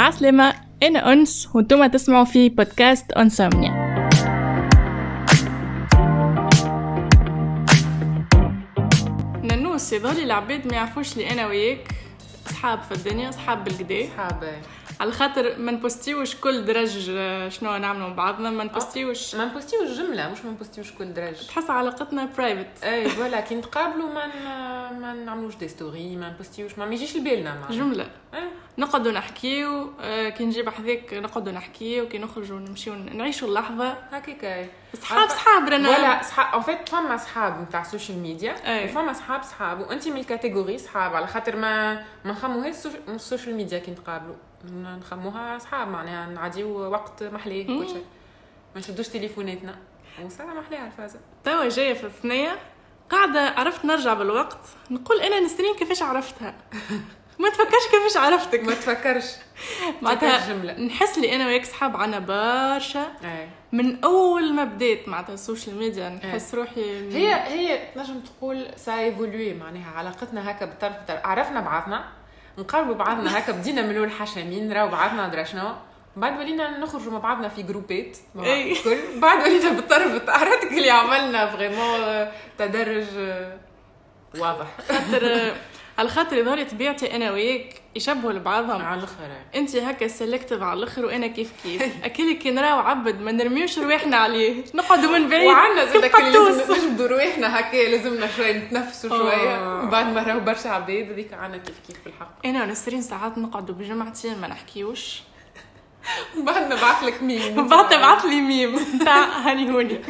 عسلامة، أنا أنس وانتم تسمعوا في بودكاست أنسومنيا. ننوس يظهرلي العباد ما يعرفوش لي أنا وياك أصحاب في الدنيا، أصحاب بالقدا، أصحاب على خاطر ما نبوستيوش كل درج شنو نعملوا مع بعضنا، ما نبوستيوش جملة، مش ما نبوستيوش كل درج. تحس علاقتنا برايفت. اي فوالا كي نتقابلوا ما نعملوش دي ستوري، ما نبوستيوش، ما يجيش لبالنا جملة. نقعدوا نحكيو، كي نجيب حذاك نقعدوا نحكيو، كي نخرجوا نمشيو نعيشوا اللحظة هكاك. صحاب رانا ولا صحاب ان فيت فما صحاب نتاع السوشيال ميديا وفما صحاب وانت من الكاتيجوري صحاب، على خاطر ما نخموهاش السوشيال ميديا كي نتقابلوا، نخموها صحاب معناها نعديو وقت محليه كل شيء، ما نشدوش تليفوناتنا وساعه محليها الفازه. توا جايه في الثنيه قاعده عرفت نرجع بالوقت نقول انا نسرين كيفاش عرفتها. ما تفكرش كيفاش عرفتك، ما تفكرش معناتها نحس لي انا وياك صحاب عنا برشا من اول ما بديت معناتها السوشيال ميديا. نحس روحي هي نجم تقول سا ايفولوي، معناها علاقتنا هكا بالطرف عرفنا بعضنا، نقربوا بعضنا هكا، بدينا من الاول حشامين نراو بعضنا درا شنو، بعد ولينا نخرجوا مع بعضنا في جروبات كل بعد ولينا بالطرف عرفتك اللي عملنا فريمون تدرج واضح. على خاطر يظهر طبيعتي انا وياك يشبهوا لبعضهم على الاخر. انت هكا سيلكتيف على الاخر وانا كيف اكيد كي نراو عبد ما نرميوش رواحنا عليه، نقعدوا من بعيد وعندنا زاد لازم نجبدوا رواحنا هكا، لازمنا شويه نتنفسوا شويه بعد ما راهو برشا عباد. هذيك عندنا كيف بالحق. انا ونسرين ساعات نقعدوا بجمعتين ما نحكيوش، بعد نبعث لك ميم، بعد تبعث لي ميم تاع هاني هوني.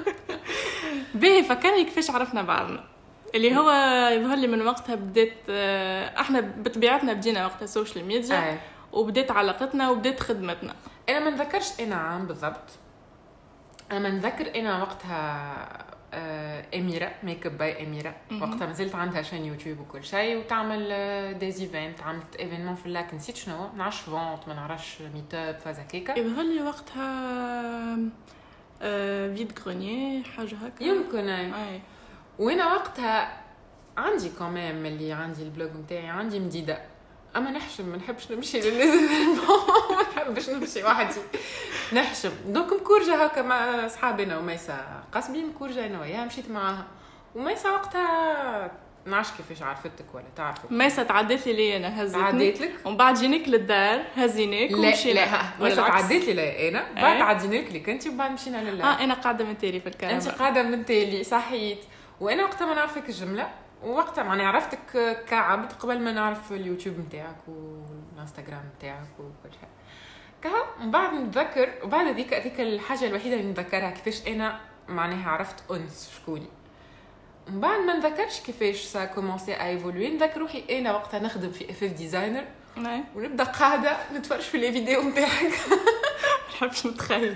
باهي فكرني كيفاش عرفنا بعضنا، اللي هو يظهر لي من وقتها بديت احنا بطبيعتنا بدينا وقتها السوشيال ميديا وبديت علاقتنا وبديت خدمتنا. انا ما نذكرش انا عام بالضبط، انا ما نذكر انا وقتها اميره ميك اب باي اميره، وقتها ما زلت عندها شان يوتيوب وكل شيء وتعمل ديز ايفنت، عملت ايفينمون في اللاك نسيت شنو، نعرفش فونت ما نعرفش ميت اب فازا كيكا. يظهر لي وقتها فيد غرونيي حاجه هكا يمكن. اي وانا وقتها عندي كمان اللي عندي البلوج نتاعي عندي مديده، اما نحشم، ما نحبش نمشي للناس، ما نحبش نمشي وحدي نحشم. دونك مكورجه هكا مع اصحابنا وميسا قاسمين مكورجه انا وياها، مشيت معاها وميسا وقتها نعرفش كيفاش عرفتك ولا تعرفك. ميسا تعديت لي انا، هزتني عديت لك ومن بعد جينيك للدار هزيناك ومشينا. لا ميسا تعديت لي انا بعد عديناك لك انت وبعد مشينا لله. انا قاعده من تالي في الكهرباء، انت قاعده من تالي صحيت. وانا وقتها ما نعرفك الجمله، ووقتها معني عرفتك كعبد قبل ما نعرف اليوتيوب نتاعك والانستغرام نتاعك وكل شيء كها. من بعد نتذكر، وبعد هذيك الحاجه الوحيده اللي نتذكرها كيفاش انا معناها عرفت انس شكوني. من بعد ما نتذكرش كيفاش سا كومونسي ايفولوي. نذكر روحي انا وقتها نخدم في اف ديزاينر ونبدا قاعده نتفرج في لي فيديو نتاعك. نحبش نتخيل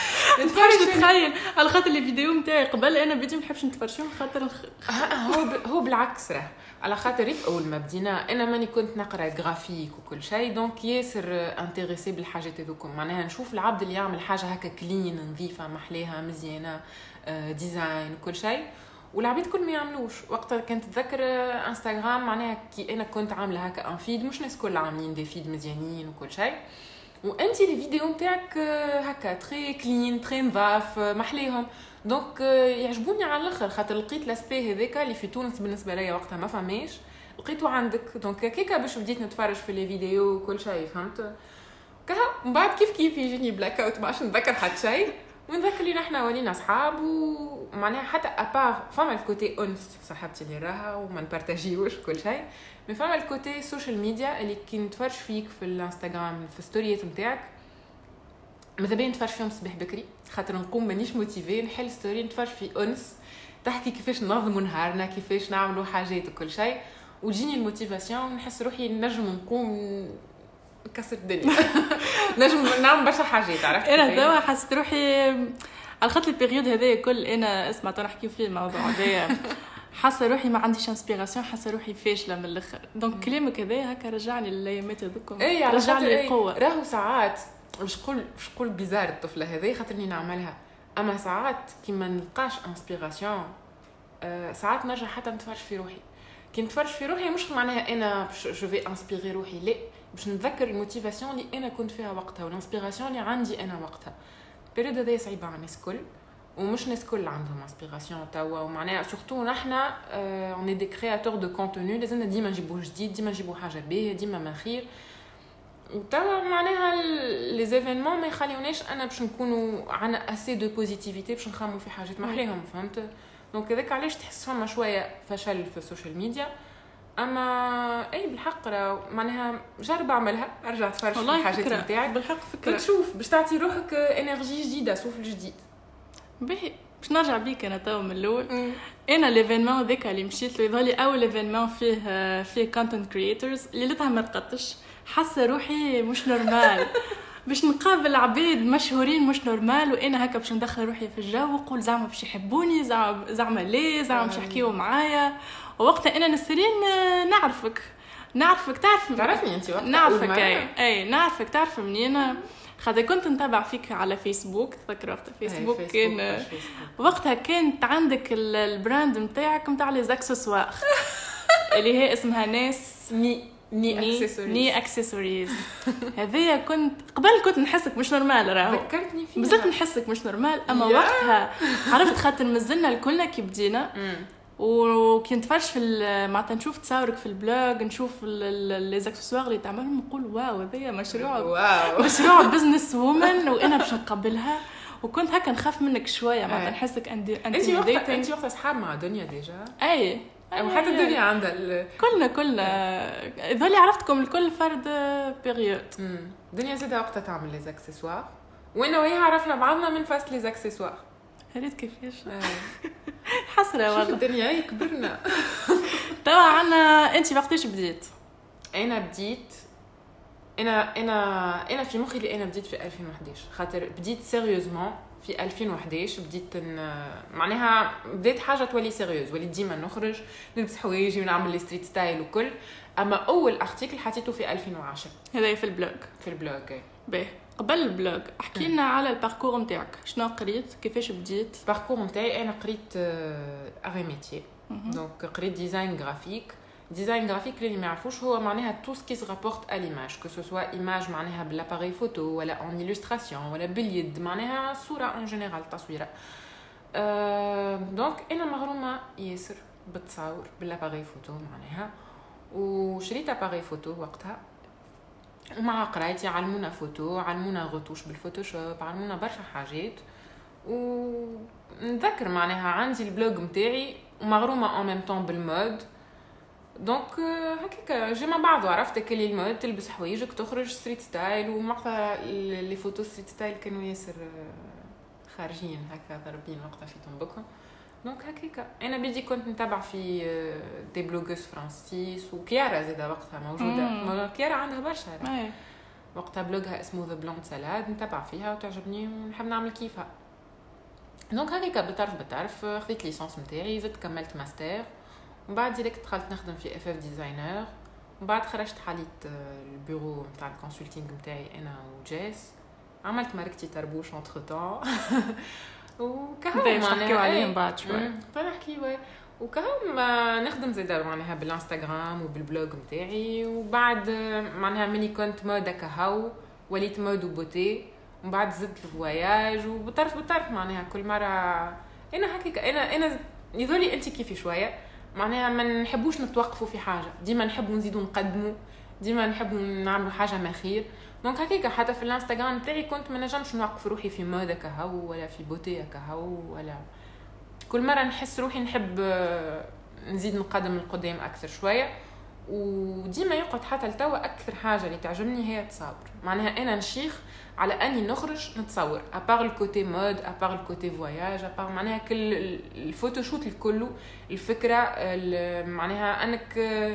على خاطر لي فيديو نتاعي قبل انا بديت ما نحبش نتفرجهم خاطر هو بالعكس راه على خاطر اول ما بدينا انا ماني كنت نقرا جرافيك وكل شيء، دونك ياسر انتريسي بالحاجات هذوكم، معناها نشوف العبد اللي يعمل حاجه هكا كلين نظيفه محليها مزيانه ديزاين وكل شيء، والعبيد كل ما يعملوش. وقتها كنت تذكر انستغرام معناها كي انا كنت عامله هكا ان فيد، مش ناس كل عاملين دي فيد مزيانين وكل شيء، وانت لي فيديو نتاعك هكا تري كلين تري نظاف محليهم، دونك يعجبوني على الاخر، خاطر لقيت لاسبي هذاك اللي في تونس بالنسبه ليا وقتها ما فماش، لقيته عندك، دونك كيكا باش بديت نتفرج في لي فيديو وكل شيء فهمت كها. من بعد كيف يجيني بلاك اوت، ماش نتذكر حتى شيء، ونذكر لي نحنا ولينا اصحاب، ومعناها حتى ابار فما الكوتي انس صاحبتي اللي راها وما نبارطاجيوش كل شيء، مي فما الكوتي السوشيال ميديا اللي كي نتفرج فيك في الانستغرام في ستوريات نتاعك ماذا بين نتفرج فيهم صباح بكري، خاطر نقوم مانيش موتيفي نحل ستوري نتفرج في انس تحكي كيفاش ننظموا نهارنا، كيفاش نعملوا حاجات وكل شيء، وتجيني الموتيفاسيون ونحس روحي نجم نقوم كسر الدنيا. نجم نعمل برشا حاجات. عرفت انا دابا حسيت روحي على خاطر البيريود هذايا كل انا اسمع نحكيو فيه الموضوع هذايا، حاسه روحي ما عنديش انسبيراسيون، حاسه روحي فاشله من الاخر. دونك كلامك هذا هكا رجعني للايامات هذوكم، رجع لي القوه. راهو ساعات مش قول بيزار الطفله هذه خاطرني نعملها، اما ساعات كي ما نلقاش انسبيراسيون ساعات نرجع حتى نتفرج في روحي. كي نتفرج في روحي مش معناها انا جو في انسبيري روحي، لا باش نتذكر الموتيفاسيون اللي انا كنت فيها وقتها والانسبيراسيون اللي عندي انا وقتها. البيريود هذه صعيبه على الناس الكل ومش ناس كل عندهم انسبيراسيون توا ومعناها سورتو نحنا اون دي كرياتور دو كونتوني لازمنا ديما نجيبوا جديد ديما نجيبوا حاجه باهيه ديما ما خير توا معناها لي زيفينمون ما يخليوناش انا باش نكونوا عنا اسي دو بوزيتيفيتي باش نخمموا في حاجات محليهم فهمت. دونك هذاك علاش تحس فما شويه فشل في السوشيال ميديا. اما اي بالحق معناها جرب اعملها ارجع تفرج في الحاجات نتاعك بالحق فكره تشوف باش تعطي روحك انرجي جديده سوفل جديد. باهي باش نرجع بيك انا تو من الاول. انا ليفينمون ذاك اللي مشيت له يظهر لي اول ليفينمون فيه كونتنت كرييتورز اللي لتها ما رقدتش حاسه روحي مش نورمال باش نقابل عباد مشهورين مش نورمال وانا هكا باش ندخل روحي في الجو ونقول زعما باش يحبوني زعما ليه زعما باش يحكيوا معايا. ووقتها انا نسرين نعرفك تعرفني انت وقتها نعرفك اي نعرفك تعرف منين خاطر كنت نتابع فيك على فيسبوك تذكر وقتها فيسبوك كان وقتها كانت عندك البراند نتاعك نتاع لي اكسسوار اللي هي اسمها ناس ني اكسسوارز هذيا كنت قبل كنت نحسك مش نورمال راهو ذكرتني فيها بزاف نحسك مش نورمال اما وقتها عرفت خاطر مازلنا الكلنا كي بدينا وكي نتفرج في معناتها نشوف تصاورك في البلوج نشوف لي زاكسسوار اللي تعملهم نقول واو هذايا مشروع بزنس وومن وانا باش نقبلها. وكنت هكا نخاف منك شويه معناتها نحسك انت وقتها اصحاب مع دنيا ديجا اي وحتى الدنيا عندها كلنا يظهر لي عرفتكم الكل فرد بيريود. دنيا زادة وقتها تعمل لي زاكسسوار وانا وهي عرفنا بعضنا من فاست لي زاكسسوار هريت كيفاش حسره والله الدنيا كبرنا. طبعا انت وقتاش بديت؟ انا بديت انا في مخي اللي انا بديت في 2011 خاطر بديت سيريوزمون في 2011 بديت معناها بديت حاجه تولي سيريوز وليت ديما نخرج نلبس حوايجي ونعمل لي ستريت ستايل وكل. اما اول ارتيكل حطيته في 2010 هذا في البلوج باهي. قبل البلوج احكي لنا على الباركور نتاعك شنو قريت كيفاش بديت. الباركور نتاعي انا قريت اري ميتي دونك قريت ديزاين جرافيك اللي ما يعرفوش هو معناها تو سكي سي رابورت ا ليماج كو سو سوا ايماج معناها بالاباري فوتو ولا اون إلوستراسيون ولا باليد معناها صوره اون جينيرال تصويره. دونك انا مغرومه ياسر بالتصاور بالاباري فوتو معناها وشريت اباري فوتو وقتها ومع قرايتي علمونا فوتو علمونا غوتوش بالفوتوشوب علمونا برشا حاجات. ونذكر معناها عندي البلوج نتاعي ومغرومه اون ميم طون بالمود دونك هكاك جي مع بعض عرفت كلي المود تلبس حوايجك تخرج ستريت ستايل ومقطع لي فوتو ستريت ستايل كانوا ياسر خارجين هكا ضربين وقتها في تنبكهم. دونك هكاك انا بدي كنت نتابع في دي بلوغوس فرانسيس وكيارا زاده وقتها موجوده كيارا عندها برشا وقتها بلوغها اسمه ذا بلوند سالاد نتابع فيها وتعجبني ونحب نعمل كيفها. دونك هكاك بالطرف خذيت ليسانس نتاعي زدت كملت ماستر ومن بعد ديريكت دخلت نخدم في اف ديزاينر ومن بعد خرجت حاليت البيرو نتاع الكونسلتينغ نتاعي انا وجيس عملت ماركتي تربوش انتر طون وكهو نحكيو عليهم بعد شوي فنحكي وكهو ما نخدم زاده معناها بالانستغرام وبالبلوج نتاعي. وبعد معناها مني كنت موده كهو وليت مود وبوتي ومن بعد زدت الفواياج وبالطرف معناها كل مره انا هكاك انا يظهرلي انت كيفي شويه معناها ما نحبوش نتوقفوا في حاجه ديما نحبوا نزيدوا نقدموا ديما نحبوا نعملوا حاجه ما خير. دونك هكاك حتى في الانستغرام تاعي كنت ما نجمش نوقف روحي في موده كهو ولا في بوتيه كهو ولا كل مره نحس روحي نحب نزيد نقدم القدام اكثر شويه. وديما يقعد حتى لتوا اكثر حاجه اللي تعجبني هي التصاور معناها انا نشيخ على اني نخرج نتصور ابار الكوتي مود ابار الكوتي فواياج ابار معناها كل الفوتوشوت الكل الفكره معناها انك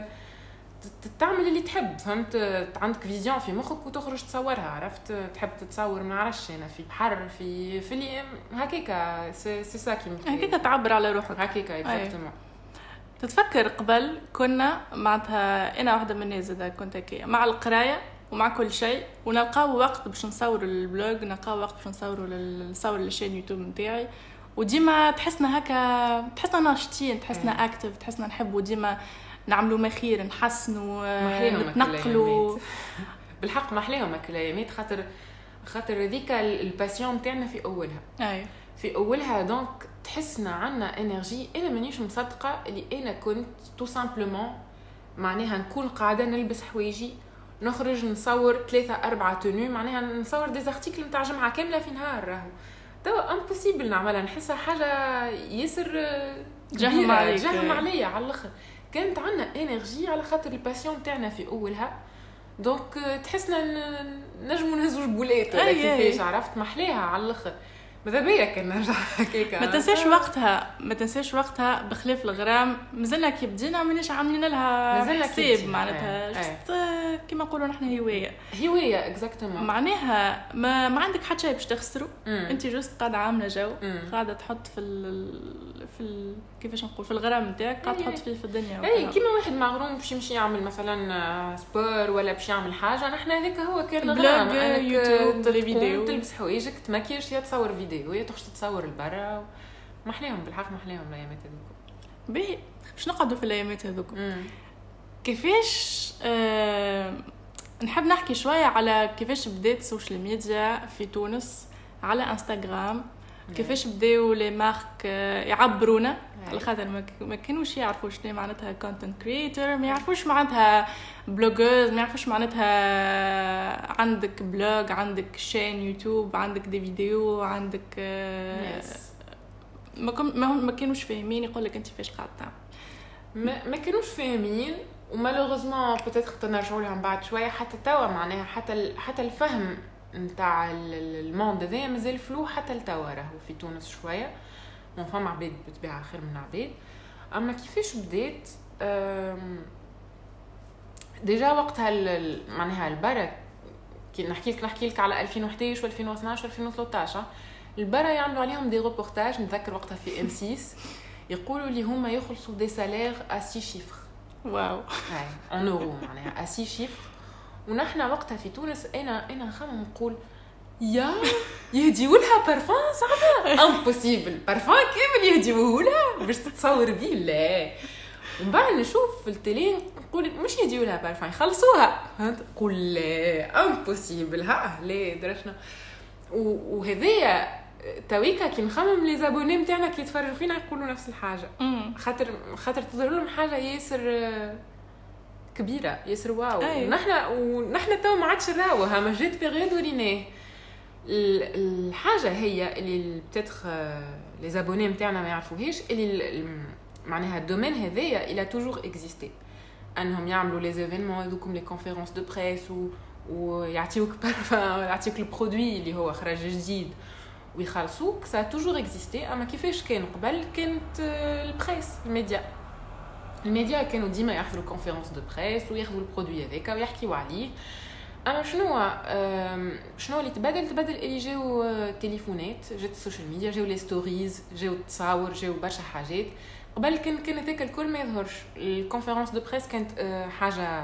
تعمل اللي تحب فهمت عندك فيزيون في مخك وتخرج تصورها عرفت تحب تتصور ما نعرفش انا في بحر في اللي هكاكا سي ساكي هكاكا تعبر على روحك هكاكا اكزاكتومون. تتفكر قبل كنا معناتها انا واحده من الناس زاد كنت هكايا مع القرايه ومع كل شيء ونلقاو وقت باش نصور البلوج نلقاو وقت باش نصور للشين يوتيوب نتاعي وديما تحسنا هكا تحسنا ناشطين تحسنا اكتيف تحسنا نحبوا ديما نعملوا مخير نحسنوا نتنقلوا بالحق محليهم الكلامات خاطر ذيك الباسيون تاعنا في اولها في اولها دونك تحسنا عنا انرجي. انا مانيش مصدقه اللي انا كنت تو سامبلومون معناها نكون قاعده نلبس حوايجي نخرج نصور 3-4 تونو معناها نصور دي زارتيكل نتاع جمعه كامله في نهار راهو توا امبوسيبل نعملها. نحسها حاجه ياسر جهم عليا على الاخر. كانت عنا انرجي على خاطر الباسيون تاعنا في اولها دونك تحسنا نجموا نهزوا جبولات ولا كيفاش عرفت محليها على الاخر. ماذا بيا كان نرجع هكاك. ما تنساش وقتها بخلاف الغرام مازلنا كي بدينا مانيش عاملين لها حساب معناتها كيما نقولوا نحن هوايه اكزاكتومون معناها ما عندك حتى شيء باش تخسروا. انت جوست قاعده عامله جو قاعده تحط في كيفاش نقول في الغرام نتاعك قاعده تحط فيه في الدنيا. اي كيما واحد مغروم باش يمشي يعمل مثلا سبور ولا باش يعمل حاجه نحن هذاك هو كان الغرام. يوتيوب تلفزيون تلبس حوايجك تماكيش يا تصور فيديو وهي تخش تتصور البرا محليهم بالحق محليهم الايامات هذوك. باهي باش نقعدوا في الايامات هذوك كيفاش نحب نحكي شويه على كيفاش بدات السوشيال ميديا في تونس على انستغرام. كيفاش بداو لي مارك يعبرونا على خاطر ما كانوش يعرفوا شنو معناتها كونتنت كرييتور ما يعرفوش معناتها بلوجرز ما يعرفوش معناتها عندك بلوج عندك شين يوتيوب عندك دي فيديو عندك ما كانوش فاهمين يقول لك انت فاش قاعد تعمل ما كانوش فاهمين ومالوغوزمون بوتيتر تنرجعوا لهم بعد شويه حتى توا معناها حتى الفهم نتاع الموند هذا مازال فلو حتى لتوا راهو في تونس شويه مو فما عباد بتبيع خير من عباد. اما كيفاش بدات ديجا وقتها معناها البرا كي نحكي لك على 2011 و2012 و2013 البرا يعملوا عليهم دي ريبورتاج. نذكر وقتها في ام 6 يقولوا لي هما يخلصوا دي سالير ا 6 شيفر واو هاي ان اورو معناها ا 6 شيفر. ونحن وقتها في تونس انا نخمم نقول يا يهديوا لها بارفان صعبه امبوسيبل بارفان كامل يهديوه لها باش تتصور بيه لا. ومن بعد نشوف في التلين نقول مش يهديوا لها بارفان يخلصوها نقول لا امبوسيبل ها لا درشنا. وهذيا تويكا كي نخمم لي زابوني نتاعنا كي يتفرجوا فينا يقولوا نفس الحاجه خاطر تظهر لهم حاجه ياسر كبيره ياسر واو. ونحن تو ما عادش نراوها ما جات بيريود وريناه. الحاجه هي اللي بتاتخ لي زابوني نتاعنا ما يعرفوهاش اللي معناها الدومين هذايا الى توجور اكزيستي انهم يعملوا لي ايفينمون هذوكم لي كونفيرونس دو بريس ويعطيوك بارفان يعطيوك البرودوي اللي هو خرج جديد ويخلصوك سا توجور اكزيستي. اما كيفاش كان قبل كانت البريس الميديا كانوا ديما يحضروا كونفيرونس دو بريس وياخذوا البرودوي هذاك ويحكيوا عليه. اما شنو اللي تبدل اللي جاو تليفونات جات السوشيال ميديا جاو لي ستوريز جاو التصاور جاو برشا حاجات. قبل كان هذاك الكل ما يظهرش. الكونفيرونس دو بريس كانت حاجه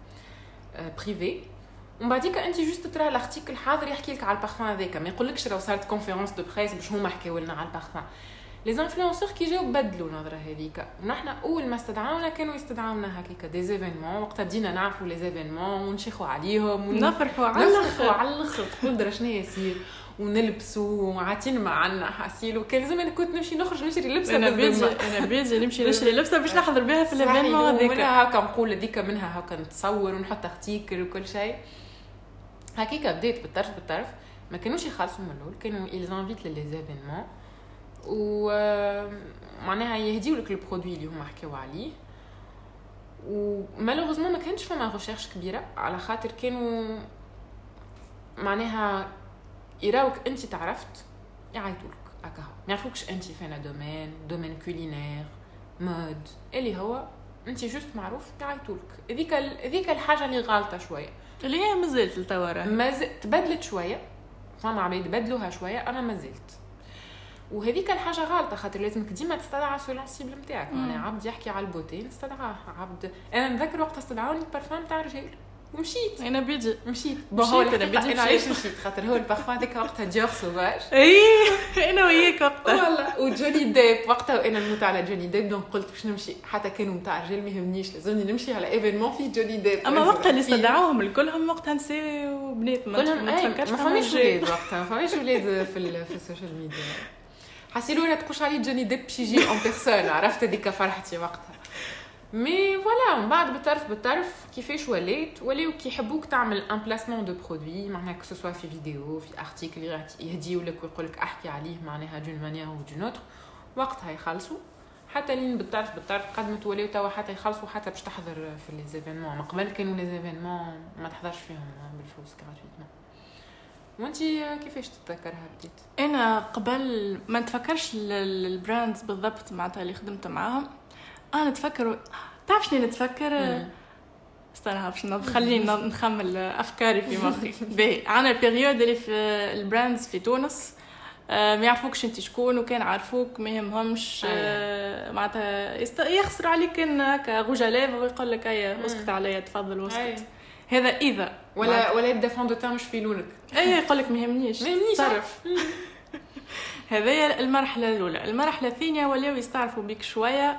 بريفي ومن بعديك انت جوست ترى الارتيكل حاضر يحكي لك على البارفان هذاك ما يقولكش لو صارت كونفيرونس دو بريس باش هما حكاو لنا على البارفان. لي انفلونسور كي جاو بدلوا نظره هذيك. ونحن اول ما استدعاونا كانوا يستدعونا هكاك دي ايفينمون وقتها بدينا نعرفوا لي ايفينمون ونشيخوا عليهم ونفرحوا على الاخر تقول درا شنو يصير ونلبسوا وعاتين معنا حاسيل. وكان لازم انا كنت نخرج نشري لبسه انا بيجي نمشي نشري لبسه باش نحضر بها في الايفينمون هذيك. منها هكا نقول هذيك منها هكا نتصور ونحط ارتيكل وكل شيء هكاك. بديت بالطرف ما كانوش يخلصوا من الاول كانوا يلزانفيت لي ايفينمون ومعناها يهديوا لك البرودوي اللي هما حكاوا عليه. ومالوغوزمون ما كانش فما ريشيرش كبيره على خاطر كانوا معناها يراوك انت تعرفت يعيطوا لك هكا ما يعرفوكش انت فين دومين كولينير مود اللي هو انت جوست معروف يعيطوا لك. هذيك الحاجه اللي غالطه شويه اللي هي مازالت التواره تبدلت شويه فما عباد بدلوها شويه انا مازلت. وهذيك الحاجه غلطه خاطر لازمك ديما تستدعى سولونسيبل نتاعك. يعني عبد يحكي على البوتين استدعاه عبد. انا نذكر وقت استدعوني البارفان تاع رجال ومشيت. انا بدي مشيت هو انا علاش مشيت خاطر هو البارفان هذيك وقتها ديور سوفاج. اي انا وياك وقتها والله. وجوني ديب وقتها وانا نموت على جوني ديب، دونك قلت باش نمشي حتى كانوا نتاع رجال ما يهمنيش، لازمني نمشي على ايفينمون فيه جوني ديب. اما وقتها اللي استدعوهم الكلهم وقتها نساء وبنات، ما تفكرش ما فماش ولاد وقتها، ما فماش ولاد في السوشيال ميديا. حسيلو لا تقولش علي جوني ديب باش يجي اون بيرسون، عرفت هذيك فرحتي وقتها. مي فوالا من بعد بالطرف كيفاش ولاو كيحبوك تعمل ان بلاسمون دو برودوي، معناها كو سوا في فيديو في ارتيكل يهديو لك ويقول لك احكي عليه معناها دون مانيير او دون اوتر، وقتها يخلصوا حتى لين بالطرف قد ما توليو توا حتى يخلصوا حتى باش تحضر في لي زيفينمون. من قبل كانوا لي زيفينمون ما تحضرش فيهم بالفلوس كراتويتمون. وانتي كيفاش تتذكرها بديت؟ انا قبل ما نتفكرش البراندز بالضبط معناتها اللي خدمت معاهم، انا نتفكر تعرف شنو نتفكر؟ استنى باش خليني نخمل افكاري في مخي. باهي انا البيريود اللي في البراندز في تونس ما يعرفوكش انت شكون، وكان عارفوك ما يهمهمش معناتها يخسر عليك ان هكا غوجاليف ويقول لك اي اسكت عليا تفضل واسكت. هذا اذا ولا يبدا فون دو تان مش في لونك، اي يقول لك ما يهمنيش تصرف. هذه المرحله الاولى. المرحله الثانيه ولاو يستعرفوا بك شويه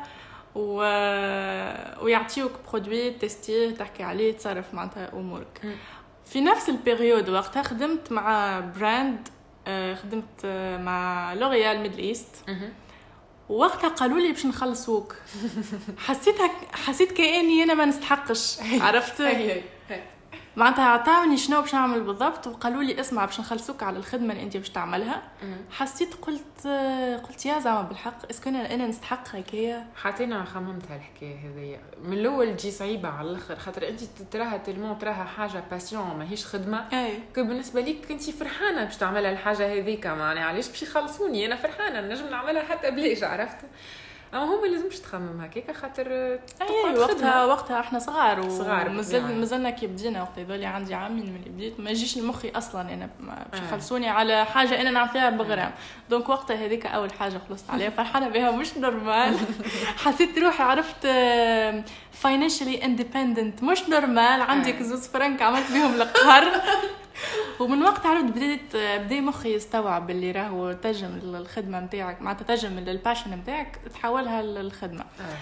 ويعطيوك برودوي تستيه تحكي عليه تصرف معناتها امورك. في نفس البيريود وقتها خدمت مع براند، خدمت مع لوريال ميدل ايست، وقتها قالوا لي باش نخلصوك. حسيت كأني انا ما نستحقش، عرفت معناتها عطاوني شنو باش نعمل بالضبط، وقالوا لي اسمع باش نخلصوك على الخدمه اللي انت باش تعملها. حسيت قلت يا زعما بالحق اسكو انا نستحق هكايا. حتى انا خممت هالحكايه هذيا من الاول، تجي صعيبه على الاخر خاطر انت تراها تلمون تراها حاجه باسيون ماهيش خدمه. كو بالنسبه ليك انت فرحانه باش تعملها الحاجه هذيك، معناها علاش باش يخلصوني انا فرحانه نجم نعملها حتى بلاش، عرفت. اما هم لازمش تخمم هكاك خاطر وقتها احنا صغار مازلنا كي بدينا. وقت يظل عندي عامين من اللي بديت ما يجيش لمخي اصلا انا باش يخلصوني على حاجه انا نعرف فيها بغرام. دونك وقتها هذيك اول حاجه خلصت عليها فرحانه بها مش نورمال. حسيت روحي عرفت financially independent مش نورمال. عندي كزوز فرنك عملت بهم القهر. ومن وقت عرفت بدي مخي يستوعب اللي راهو ترجم الخدمه نتاعك معناتها ترجم الباشن نتاعك تحولها للخدمه.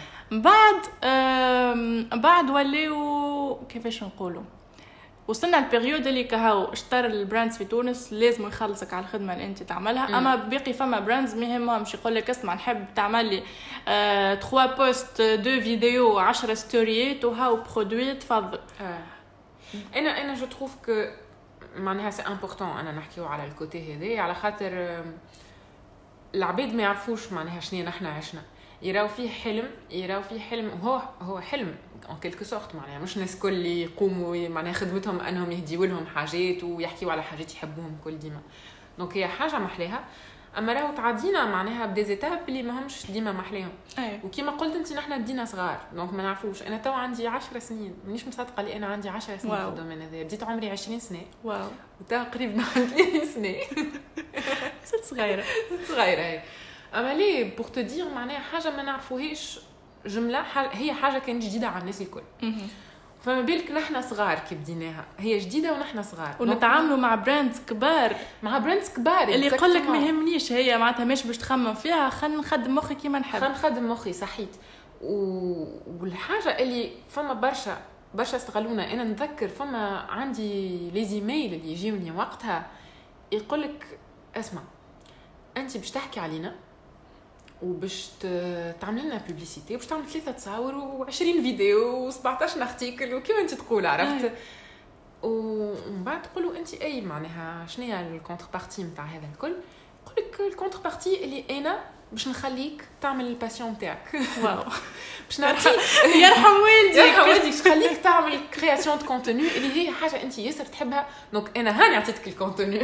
بعد ولاو كيفاش نقولوا وصلنا البيريود اللي كهو اشترى البراندز في تونس لازم يخلصك على الخدمه اللي انت تعملها. اما باقي فما براندز مهمش يقول لك اسمع نحب تعمل لي 3 بوست 2 فيديو 10 ستوريات وهاو برودوي تفضل. انا جو تروف كو معناها سي امبورطون انا نحكيو على الكوتي هذا على خاطر العباد ما يعرفوش معناها شنو نحنا عشنا. يراو فيه حلم هو حلم ان كيلكو سورت، معناها مش ناس كل اللي يقوموا معناها خدمتهم انهم يهديوا لهم حاجات ويحكيوا على حاجات يحبوهم كل ديما. دونك هي حاجه محليها، اما راهو تعدينا معناها بديزيتاب اللي ماهمش ديما محليهم. وكما قلت انت نحنا بدينا صغار دونك ما نعرفوش. انا تو عندي 10 سنين مانيش مصدقه لي انا عندي 10 سنين في الدومين هذا. بديت عمري 20 سنه واو وتقريبا 30 سنه. ست صغيره هي. اما لي بور تو دير معناها حاجه ما نعرفوهاش جمله هي حاجه كانت جديده على الناس الكل. فما بالك نحنا صغار كي بديناها هي جديده ونحنا صغار ونتعاملوا مع براندز كبار اللي يقول لك ما يهمنيش هي معناتها مش باش تخمم فيها خلينا نخدم مخي كيما نحب نخدم مخي صحيت. والحاجه اللي فما برشا استغلونا. انا نتذكر فما عندي لي زيميل اللي يجيوني وقتها يقول لك اسمع انت باش تحكي علينا وباش تعمل لنا بوبليسيتي وباش تعمل 3 تصاور و20 فيديو و17 ارتيكل وكيما انت تقول عرفت. ومن بعد تقولوا انت اي معناها شنو هي الكونتر بارتي نتاع هذا الكل. يقول لك الكونتر بارتي اللي انا باش نخليك تعمل الباسيون نتاعك. واو باش نعطيك يرحم والديك خليك تعمل كرياسيون دو كونتوني اللي هي حاجه انت ياسر تحبها. دونك انا هاني عطيتك الكونتوني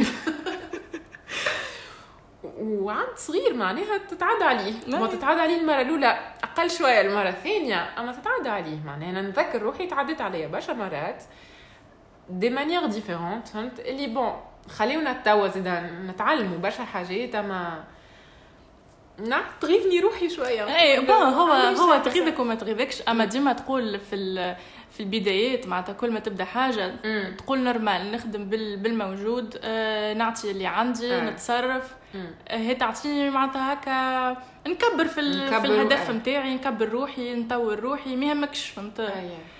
وعند صغير معناها تتعدى عليه. ما تتعدى عليه المره الاولى اقل شويه المره الثانيه اما تتعدى عليه. معناها انا نذكر روحي تعديت عليا برشا مرات دي مانيير ديفيرونت فهمت اللي بون خليونا توا زيد نتعلموا برشا حاجات. اما نعم تغيظني روحي شويه. اي هو تغيظك وما تغيظكش، اما ديما تقول في البدايات معناتها كل ما تبدا حاجه تقول نورمال نخدم بالموجود، نعطي اللي عندي، نتصرف، هي تعطيني معناتها هكا نكبر في الهدف نتاعي، نكبر روحي، نطور روحي، ما يهمكش فهمت.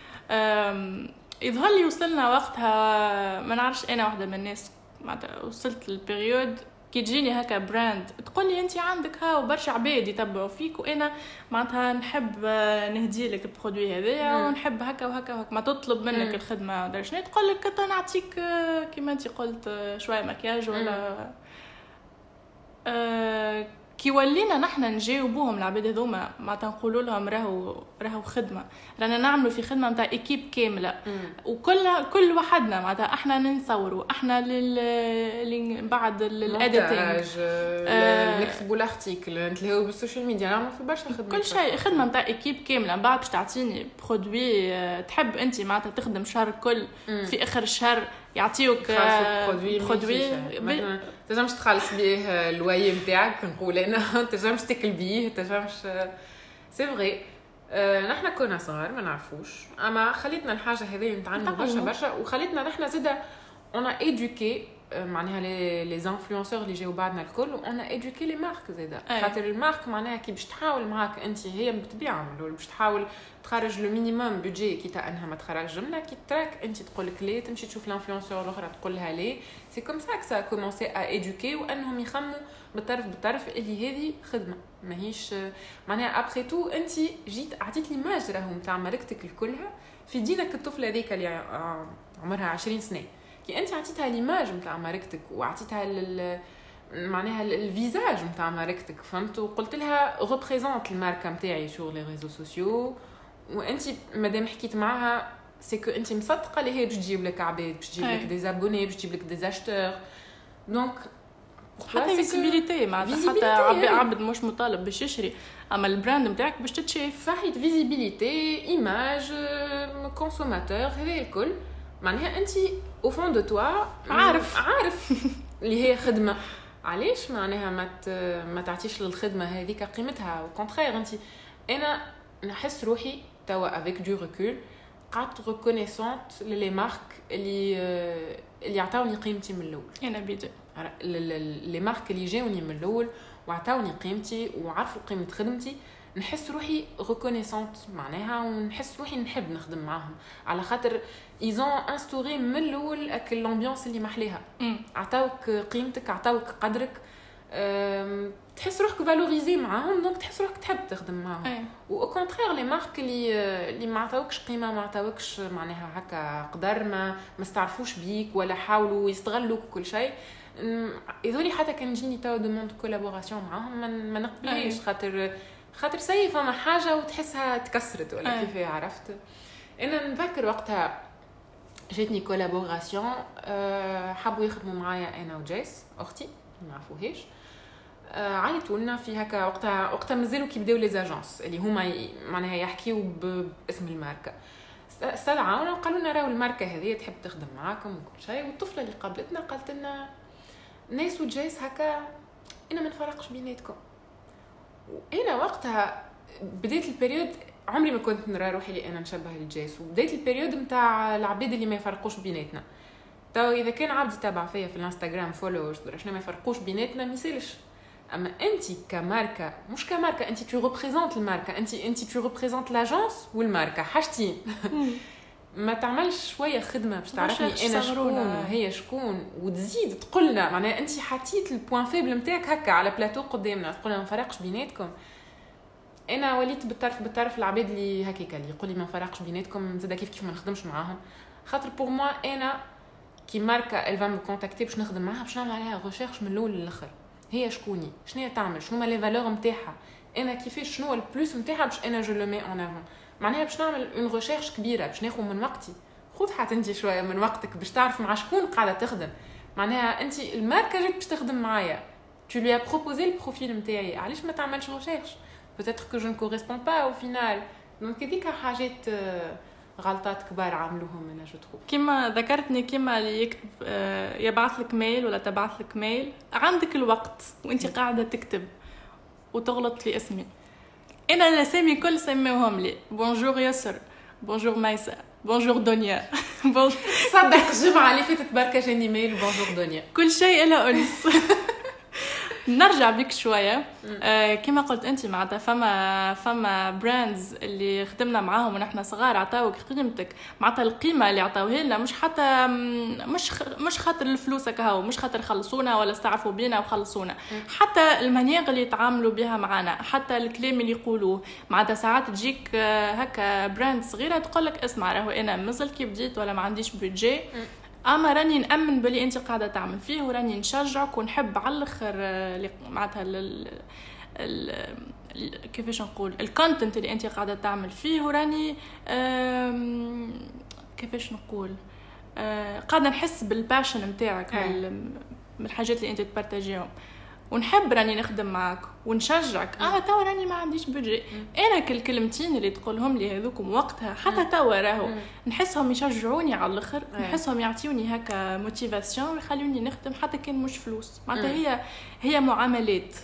يظهر لي وصلنا وقتها ما نعرفش، انا واحده من الناس معناتها وصلت للبريود كي تجيني هكا براند تقول لي انت عندك ها وبرشا عباد يتبعوا فيك، وانا معناتها نحب نهدي لك البرودوي هذايا ونحب هكا وهكا وهكا، ما تطلب منك الخدمه درشني تقول لك نعطيك كيما انت قلت شويه مكياج ولا كي ولينا نحنا نجاوبوهم العباد هذوما معناتها نقولوا لهم راهو خدمه، رانا نعملوا في خدمه نتاع ايكيب كامله، وكل وحدنا معناتها احنا نصوروا، احنا بعد الاديتنج نكتبوا الارتيكل، نتلاقوا بالسوشيال ميديا، نعملوا في برشا خدمه، كل شيء خدمه نتاع ايكيب كامله. بعد باش تعطيني برودوي تحب انت معناتها تخدم شهر كل، في اخر الشهر يعطيوك برودوي تنجمش تخلص بيه الواي نتاعك، نقول انا تنجمش تاكل بيه، تنجمش سي فري. نحنا كنا صغار ما نعرفوش، اما خليتنا الحاجه هذه نتعلموا برشا وخليتنا نحنا زاده اون ايدوكي معناها لي انفلونسور اللي جاوا بعدنا الكل، وانا ايدوكي لي مارك زاده، خاطر المارك معناها كي باش تحاول معاك انت، هي بالطبيعه باش تحاول تخرج لو مينيموم بودجي كي انها ما تخرجش جمله، كي تراك انت تقول لك ليه، تمشي تشوف الانفلونسور الاخرى تقول لها ليه. سي كوم سا كسا كومونسي ا ايدوكي، وانهم يخموا بالطرف اللي هذه خدمه ماهيش معناها ابخي تو انت جيت عطيت لي ماج راهو نتاع ماركتك الكلها في دينك الطفله هذيك اللي عمرها 20 سنه، كي انت عطيتها ليماج نتاع ماركتك وعطيتها معناها الفيزاج نتاع ماركتك، فهمت، وقلت لها ريبريزونت الماركه نتاعي سور لي ريزو سوسيو، وانت مادام حكيت معاها سي كو انت مصدقه اللي هي باش تجيب لك عباد، باش تجيب لك دي زابوني، باش تجيب لك دي اشتور، دونك حتى فيزيبيليتي معناتها حتى عبد مش مطالب باش يشري، اما البراند نتاعك باش تتشاف، صحيح فيزيبيليتي ايماج كونسوماتور، هذا الكل معناها انت او فون دو توا عارف اللي هي خدمه. علاش معناها ما تعطيش للخدمه هذيك قيمتها؟ وكونترير انت انا نحس روحي توا افيك دو ريكول قعدت ريكونيسونت لي مارك اللي عطاوني قيمتي من الاول. انا بيدي لي مارك اللي جاوني من الاول وعطاوني قيمتي وعرفوا قيمه خدمتي، نحس روحي ريكونيسونت معناها، ونحس روحي نحب نخدم معاهم، على خاطر ايزون انستوري من الاول اك الامبيونس اللي محليها، عطاوك قيمتك، عطاوك قدرك، تحس روحك فالوريزي معاهم، دونك تحس روحك تحب تخدم معاهم. و كونترير لي مارك اللي ما عطاوكش قيمه، ما عطاوكش معناها هكا قدر، ما استعرفوش بيك ولا حاولوا يستغلوك كل شيء، يذولي حتى كان يجيني توا دوموند كولابوراسيون معاهم ما نقبلهاش، خاطر سي فما حاجه وتحسها تكسرت ولا كيف عرفت. انا نذكر وقتها جاتني كولابوراسيون، حبوا يخدموا معايا انا وجيس اختي ما عرفوهاش، عيطوا لنا في هكا وقتها مازالوا كي بداو لي زاجونس اللي هما معناها يحكيوا باسم الماركه، استدعونا وقالوا لنا راهو الماركه هذه تحب تخدم معاكم وكل شيء. والطفله اللي قابلتنا قالت لنا ناس وجيس هكا انا ما نفرقش بيناتكم. وانا وقتها بديت البريود عمري ما كنت نرى روحي لي انا نشبه لجيس، وبديت البريود نتاع العباد اللي ما يفرقوش بيناتنا. تو اذا كان عبد يتابع فيا في الانستغرام فولورز شنو ما يفرقوش بيناتنا ما يسالش، اما انت كماركه مش كماركه، انت تو ريبريزونت الماركه، انت تو ريبريزونت لاجونس والماركه حاجتين. ما تعملش شويه خدمه باش تعرفني انا شكون وهي شكون، وتزيد تقولنا معناها انت حطيت البوين فيبل نتاعك هكا على بلاتو قدامنا، تقولنا ما نفرقش بيناتكم. انا وليت بالطرف العباد اللي هكاك اللي يقول لي ما نفرقش بيناتكم، زاد كيف ما نخدمش معاهم، خاطر بور موا انا كي ماركه الفا مو كونتاكتي باش نخدم معاها، باش نعمل عليها ريشيرش من الاول للاخر، هي شكوني، شنو هي تعمل، شنو هما لي فالور نتاعها، انا كيفاش شنو البلوس نتاعها باش انا جو لو مي اون افون، معناها باش نعمل اون ريشيرش كبيره، باش ناخذ من وقتي. خذ حتى انت شويه من وقتك باش تعرف مع شكون قاعده تخدم، معناها انت الماركه جات باش تخدم معايا، tu lui as proposé le profil نتاعي، علاش ما تعملش ريشيرش؟ peut-être que je ne correspond pas au final. donc هذيك حاجات غلطات كبار عملوهم انا جو تروف. كيما ذكرتني كيما اللي يكتب يبعث لك ميل ولا تبعث لك ميل، عندك الوقت وانت قاعده تكتب وتغلط في اسمي. انا الاسامي كل سموهم لي بونجور يسر، بونجور ميسا، بونجور دنيا. صدق الجمعه اللي فاتت بركه جاني ميل بونجور دنيا، كل شيء له انس. نرجع بك شويه. كما قلت انت معناتها فما براندز اللي خدمنا معاهم ونحن صغار عطاوك قيمتك، معناتها القيمه اللي عطاوها لنا مش حتى مش خاطر الفلوس هكاو، مش خاطر خلصونا ولا استعرفوا بينا وخلصونا، حتى المانيير اللي يتعاملوا بها معنا، حتى الكلام اللي يقولوه. معناتها ساعات تجيك هكا براند صغيره تقول لك اسمع راهو انا مازال كي بديت ولا ما عنديش بودجي، اما راني نامن بلي انت قاعده تعمل فيه وراني نشجعك ونحب على الاخر معناتها كيفاش نقول الكونتنت اللي انت قاعده تعمل فيه، وراني كيفاش نقول قاعده نحس بالباشن نتاعك من الحاجات اللي انت تبارطاجيهم، ونحب راني نخدم معاك ونشجعك. توا راني ما عنديش بودجي، انا كل كلمتين اللي تقولهم لي هذوكم وقتها حتى توا راهو نحسهم يشجعوني على الاخر، نحسهم يعطيوني هكا موتيفاسيون ويخلوني نخدم حتى كان مش فلوس. معناتها هي معاملات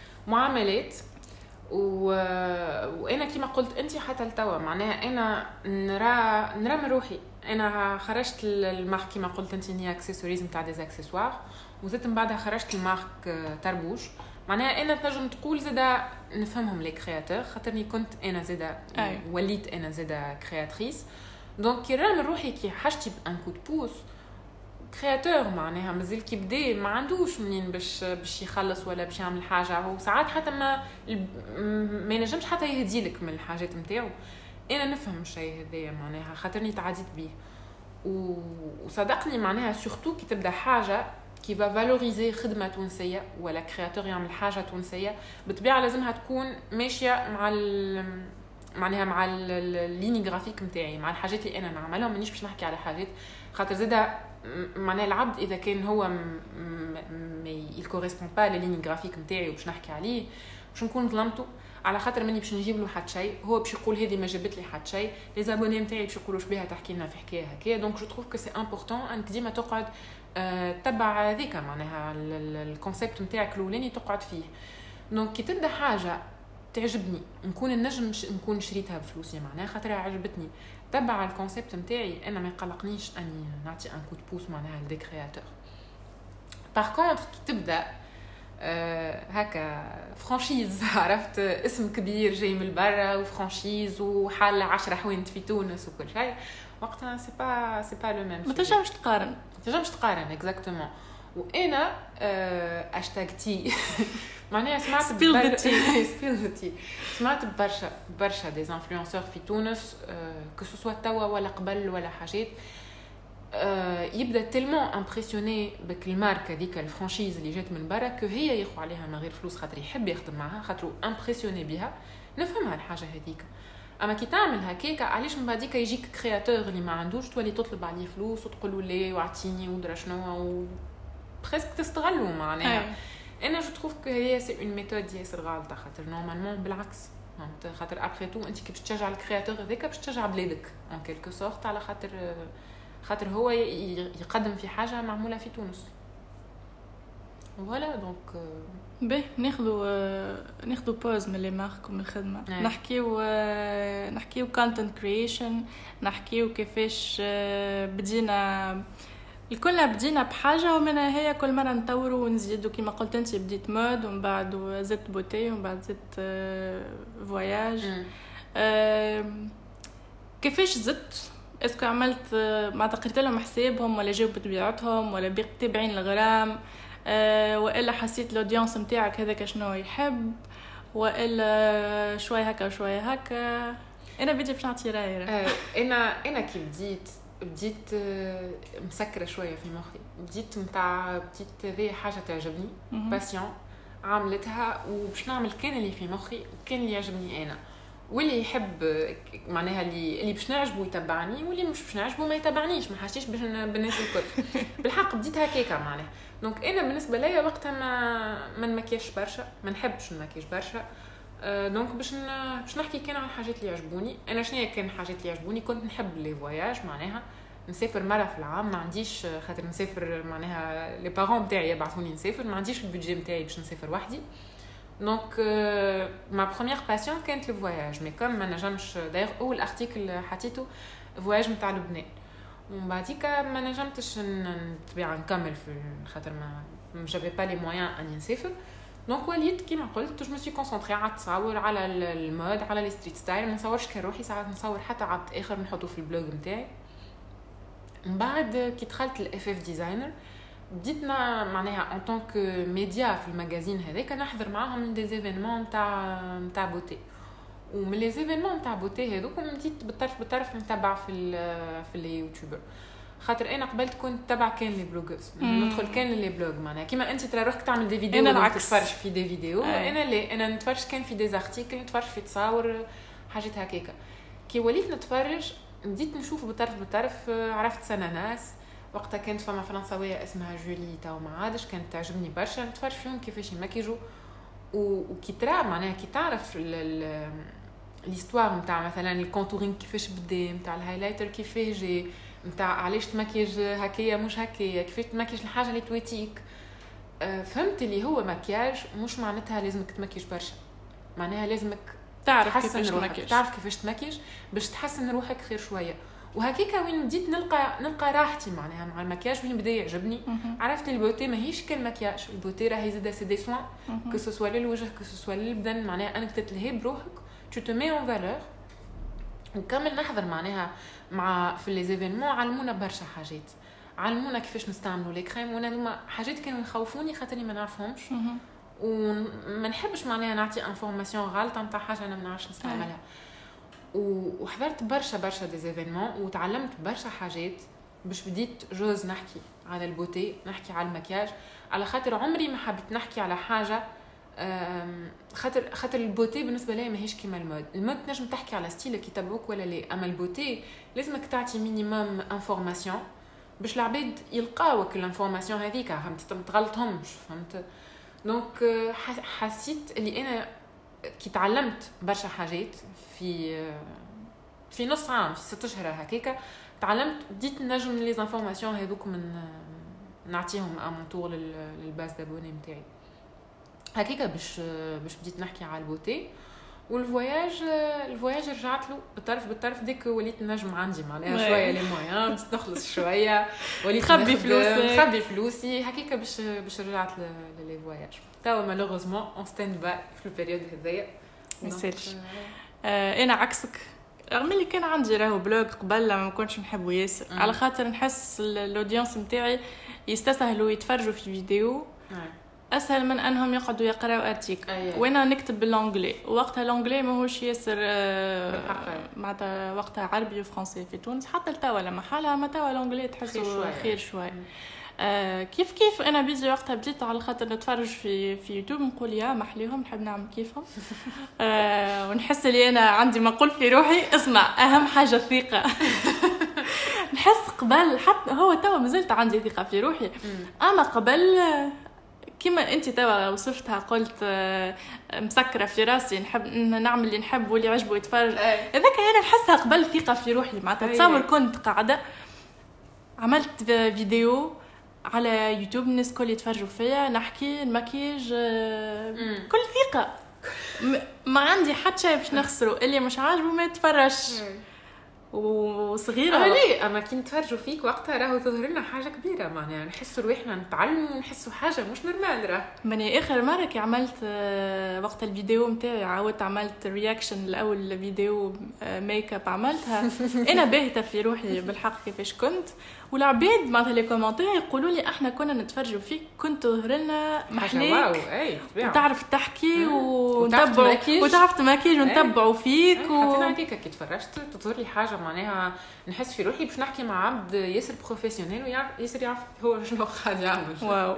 وانا كيما قلت انت حتى لتوا معناها انا نرى من روحي. انا خرجت المارك كيما قلت انت هي اكسسوارز نتاع دي اكسسوار، وزدت من بعدها خرجت المارك تربوش. معناها انا تنجم تقول زاده نفهمهم لي كرياتور، خاطرني كنت انا زاده وليت انا زاده كرياتريس. دونك كي راه من روحي كي حاجتي بان كود بوس كرياتور معناها مازال كي بدا ما عندوش منين باش يخلص ولا باش يعمل حاجه، هو ساعات حتى ما ينجمش حتى يهديلك من الحاجات نتاعو. انا نفهم الشيء هذايا معناها خاطرني تعديت بيه، وصدقني معناها سورتو كي تبدا حاجه كي فا فالوريزي خدمه تونسيه ولا كرياتور يعمل حاجه تونسيه، بالطبيعه لازمها تكون ماشيه معناها مع الليني جرافيك نتاعي، مع الحاجات اللي انا نعملها. مانيش باش نحكي على حاجات خاطر زاده معناها العبد اذا كان هو ما يكوريسبون با لليني جرافيك نتاعي وباش نحكي عليه باش نكون ظلمته، على خاطر ماني باش نجيب له حد شيء، هو باش يقول هذه ما جابت لي حد شيء، لي زابوني نتاعي باش يقولوا شبيها تحكي لنا في حكايه هكا. دونك جو تروف كو سي امبورطون انك ديما تقعد تبع هذيك معناها الكونسيبت نتاعك الاولاني تقعد فيه. دونك كي تبدا حاجه تعجبني نكون النجم نكون شريتها بفلوسي معناها خاطرها عجبتني، تبع الكونسيبت نتاعي انا ما يقلقنيش اني نعطي ان كود بوس معناها لدي كرياتور. باغ كونطخ كي تبدا هكا فرانشيز، عرفت اسم كبير جاي من برا وفرانشيز وحال 10 حوانت في تونس وكل شيء، وقتها سي با لو ميم. ما تنجمش تقارن اكزاكتومون. وانا اشتاقتي معناها سمعت سمعت برشا دي انفلونسور في تونس كو سوسوا توا ولا قبل ولا حاجات يبدا تيلمون امبرسيوني بك الماركه ديك الفرانشيز اللي جات من برا كو هي ياخذ عليها من غير فلوس خاطر يحب يخدم معها خاطر امبرسيوني بها. نفهمها الحاجه هذيك، اما كي تعمل هكاك علاش من بعديك يجيك كرياتور اللي ما عندوش تولي تطلب عليه فلوس وتقول له ليه واعطيني ودرا شنو بريسك تستغلوا معناها. انا جو تروف كو هي سي اون ميثود ياسر غلطه خاطر نورمالمون بالعكس خاطر ابخي تو انت كي باش تشجع الكرياتور هذاك باش تشجع بلادك ان كيلكو سورت على خاطر هو يقدم في حاجه معموله في تونس. فوالا دونك باهي ناخذوا بوز من لي مارك ومن الخدمه. نحكيو كونتنت كرييشن، نحكيو كيفاش بدينا الكلنا بدينا بحاجه ومنها هي كل مره نطوروا ونزيدوا. كما قلت انت بديت مود ومن بعد زدت بوتي ومن بعد زدت فواياج. كيفاش زدت؟ اسكو عملت ما قريت لهم حسابهم ولا جاوبت بطبيعتهم ولا تابعين الغرام والا حسيت الاودينس نتاعك هذاك شنو يحب والا شويه هكا وشويه هكا؟ انا بدي باش نعطي رايي. انا كي بديت مسكره شويه في مخي، بديت ذي حاجه تعجبني باسيون عملتها وباش نعمل كان اللي في مخي وكان اللي يعجبني انا، واللي يحب معناها اللي باش نعجبه يتبعني واللي مش باش نعجبه ما يتبعنيش، ما حاجتيش باش بالناس الكل. بالحق بديت هكاكا معناها. دونك انا بالنسبه ليا وقتها ما نمكياش برشا، ما نحبش نمكيش برشا. دونك باش نحكي كان عن الحاجات اللي يعجبوني انا. شنو كان الحاجات اللي يعجبوني؟ كنت نحب لي فواياج معناها نسافر مره في العام، ما عنديش خاطر نسافر معناها لي بارون نتاعي يبعثوني نسافر، ما عنديش البودجي نتاعي باش نسافر وحدي. دونك ما بروميير باسيون كانت الفواياج، مي كوم ما نجمش داير اول ارتيكل حطيته فواياج نتاع لبنان، ومن بعديك ما نجمتش نتبع نكمل في خاطر ما جافي با لي مويان اني نسافر. دونك وليت كيما قلت جو مي سوي كونسونطري على التصاور، على المود، على لي ستريت ستايل. ما نصورش كروحي، ساعات نصور حتى عبد اخر نحطه في البلوج نتاعي. من بعد كي دخلت الاف اف ديزاينر بديتنا معناها ان طونك ميديا في المجازين هذاك نحضر معاهم دي زيفينمون نتاع بوتي، ومن لي زيفينمون نتاع بوتي هذوك بديت بالطرف نتبع في لي يوتيوبر. خاطر انا قبلت كنت تبع كان لي بلوغرز، ندخل كان لي بلوغ معناها كيما انت ترى روحك تعمل دي فيديو انا تتفرج في دي فيديو. انا لا، انا نتفرج كان في دي زارتيكل، نتفرج في تصاور حاجات هكاكا. كي وليت نتفرج بديت نشوف بالطرف عرفت سناناس وقتها كانت فما فرنساويه اسمها جولي تاو ما عادش كانت تعجبني برشا، نتفرج فيهم كيفاش يمكيجوا وكي ترى معناها كي تعرف ليستوار نتاع مثلا الكونتورينغ كيفاش بدا، نتاع الهايلايتر كيفاش جي، نتاع علاش تمكيج هكايا مش هكايا، كيفاش تمكيج الحاجه اللي تويتيك. فهمت اللي هو مكياج مش معناتها لازمك تمكيج برشا، معناها لازمك تعرف كيفاش تمكيج، تعرف كيفاش تمكيج باش تحسن روحك خير شويه. وهكيكا وين بديت نلقى راحتي معناها مع المكياج، وين بدا يعجبني. عرفت البوتي ماهيش كالمكياج، البوتي راهي زاده سي دي سوان كو سو سوا للوجه كو سو سوا للبدن، معناها انك تتلهي بروحك tu te mets en valeur. وكمل نحضر معناها مع في لي زيفينمون علمونا برشا حاجات، علمونا كيفاش نستعملوا لي كريم، وانا هما حاجات كانوا يخوفوني خاطرني ما نعرفهمش وما نحبش معناها نعطي انفورماسيون غلطه نتاع حاجه انا ما نعرفش نستعملها. وحضرت برشا دي زيفينمون وتعلمت برشا حاجات باش بديت جوز نحكي على البوتي، نحكي على المكياج، على خاطر عمري ما حبيت نحكي على حاجه خاطر البوتي بالنسبه لي ماهيش كيما المود تنجم تحكي على ستيلك يتبعوك ولا لا، اما البوتي لازمك تعطي مينيموم انفورماسيون باش العباد يلقاوك الانفورماسيون هذيك، فهمت؟ ما تغلطهمش، فهمت؟ دونك حسيت اللي انا كي تعلمت برشا حاجات في نص عام، في 6 اشهر هكاكا تعلمت، بديت نجم لي انفورماسيون هذوك من نعطيهم امون طور للباس دابوني نتاعي هكاكا باش بديت نحكي على البوتي. والفواياج رجعت له بالطرف ديك وليت نجم عندي معناها شويه لي مويان، بديت نخلص شويه، وليت نخبي فلوسي هكاكا باش رجعت لي فواياج. توا مالوغوزمون اون ستاند باي في البيريود هذيا ما يسالش. انا عكسك، رغم اللي كان عندي راهو بلوج قبل ما كنتش نحبه ياسر، على خاطر نحس الاودينس نتاعي يستسهلوا يتفرجوا في فيديو اسهل من انهم يقعدوا يقراوا ارتيكل. وانا نكتب بالانجلي، وقتها الانجلي ماهوش ياسر معناتها وقتها عربي وفرنسي في تونس، حتى لتوا لما حالها ما توا الانجلي تحسوا خير شوي. كيف انا بيجي وقتها بديت على خاطر نتفرج في يوتيوب نقول يا محليهم نحب نعمل كيفهم ونحس لي انا عندي ما اقول في روحي. اسمع، اهم حاجه الثقه. نحس قبل حتى هو توا مازلت عندي ثقه في روحي، اما قبل كما انت توا وصفتها قلت مسكره في راسي نحب نعمل اللي نحب واللي عجبه يتفرج، هذاك انا نحسها قبل ثقه في روحي. معناتها تصور كنت قاعده عملت فيديو على يوتيوب الناس كل يتفرجوا فيا نحكي المكياج كل ثقه، ما عندي حتى شيء باش نخسره، اللي مش عاجبه ما يتفرجش. وصغيره ليه اما كي نتفرجوا فيك وقتها راهو تظهر لنا حاجه كبيره، معناها نحسوا روحنا نتعلموا ونحسوا حاجه مش نورمال. راه ماني اخر مره كي عملت وقت الفيديو نتاعي عاودت عملت رياكشن لاول فيديو ميك اب عملتها انا باهته في روحي بالحق كيفاش كنت، والعباد معناتها لي كومونتير يقولوا لي احنا كنا نتفرجوا فيك كنت تظهر لنا محليك وتعرف تحكي وتعرف تماكيج ونتبعوا فيك حتى هكاك كي تفرجت تظهر لي حاجه معناها نحس في روحي باش نحكي مع عبد ياسر بروفيسيونيل وياسر يعرف هو شنو قاعد يعمل. واو.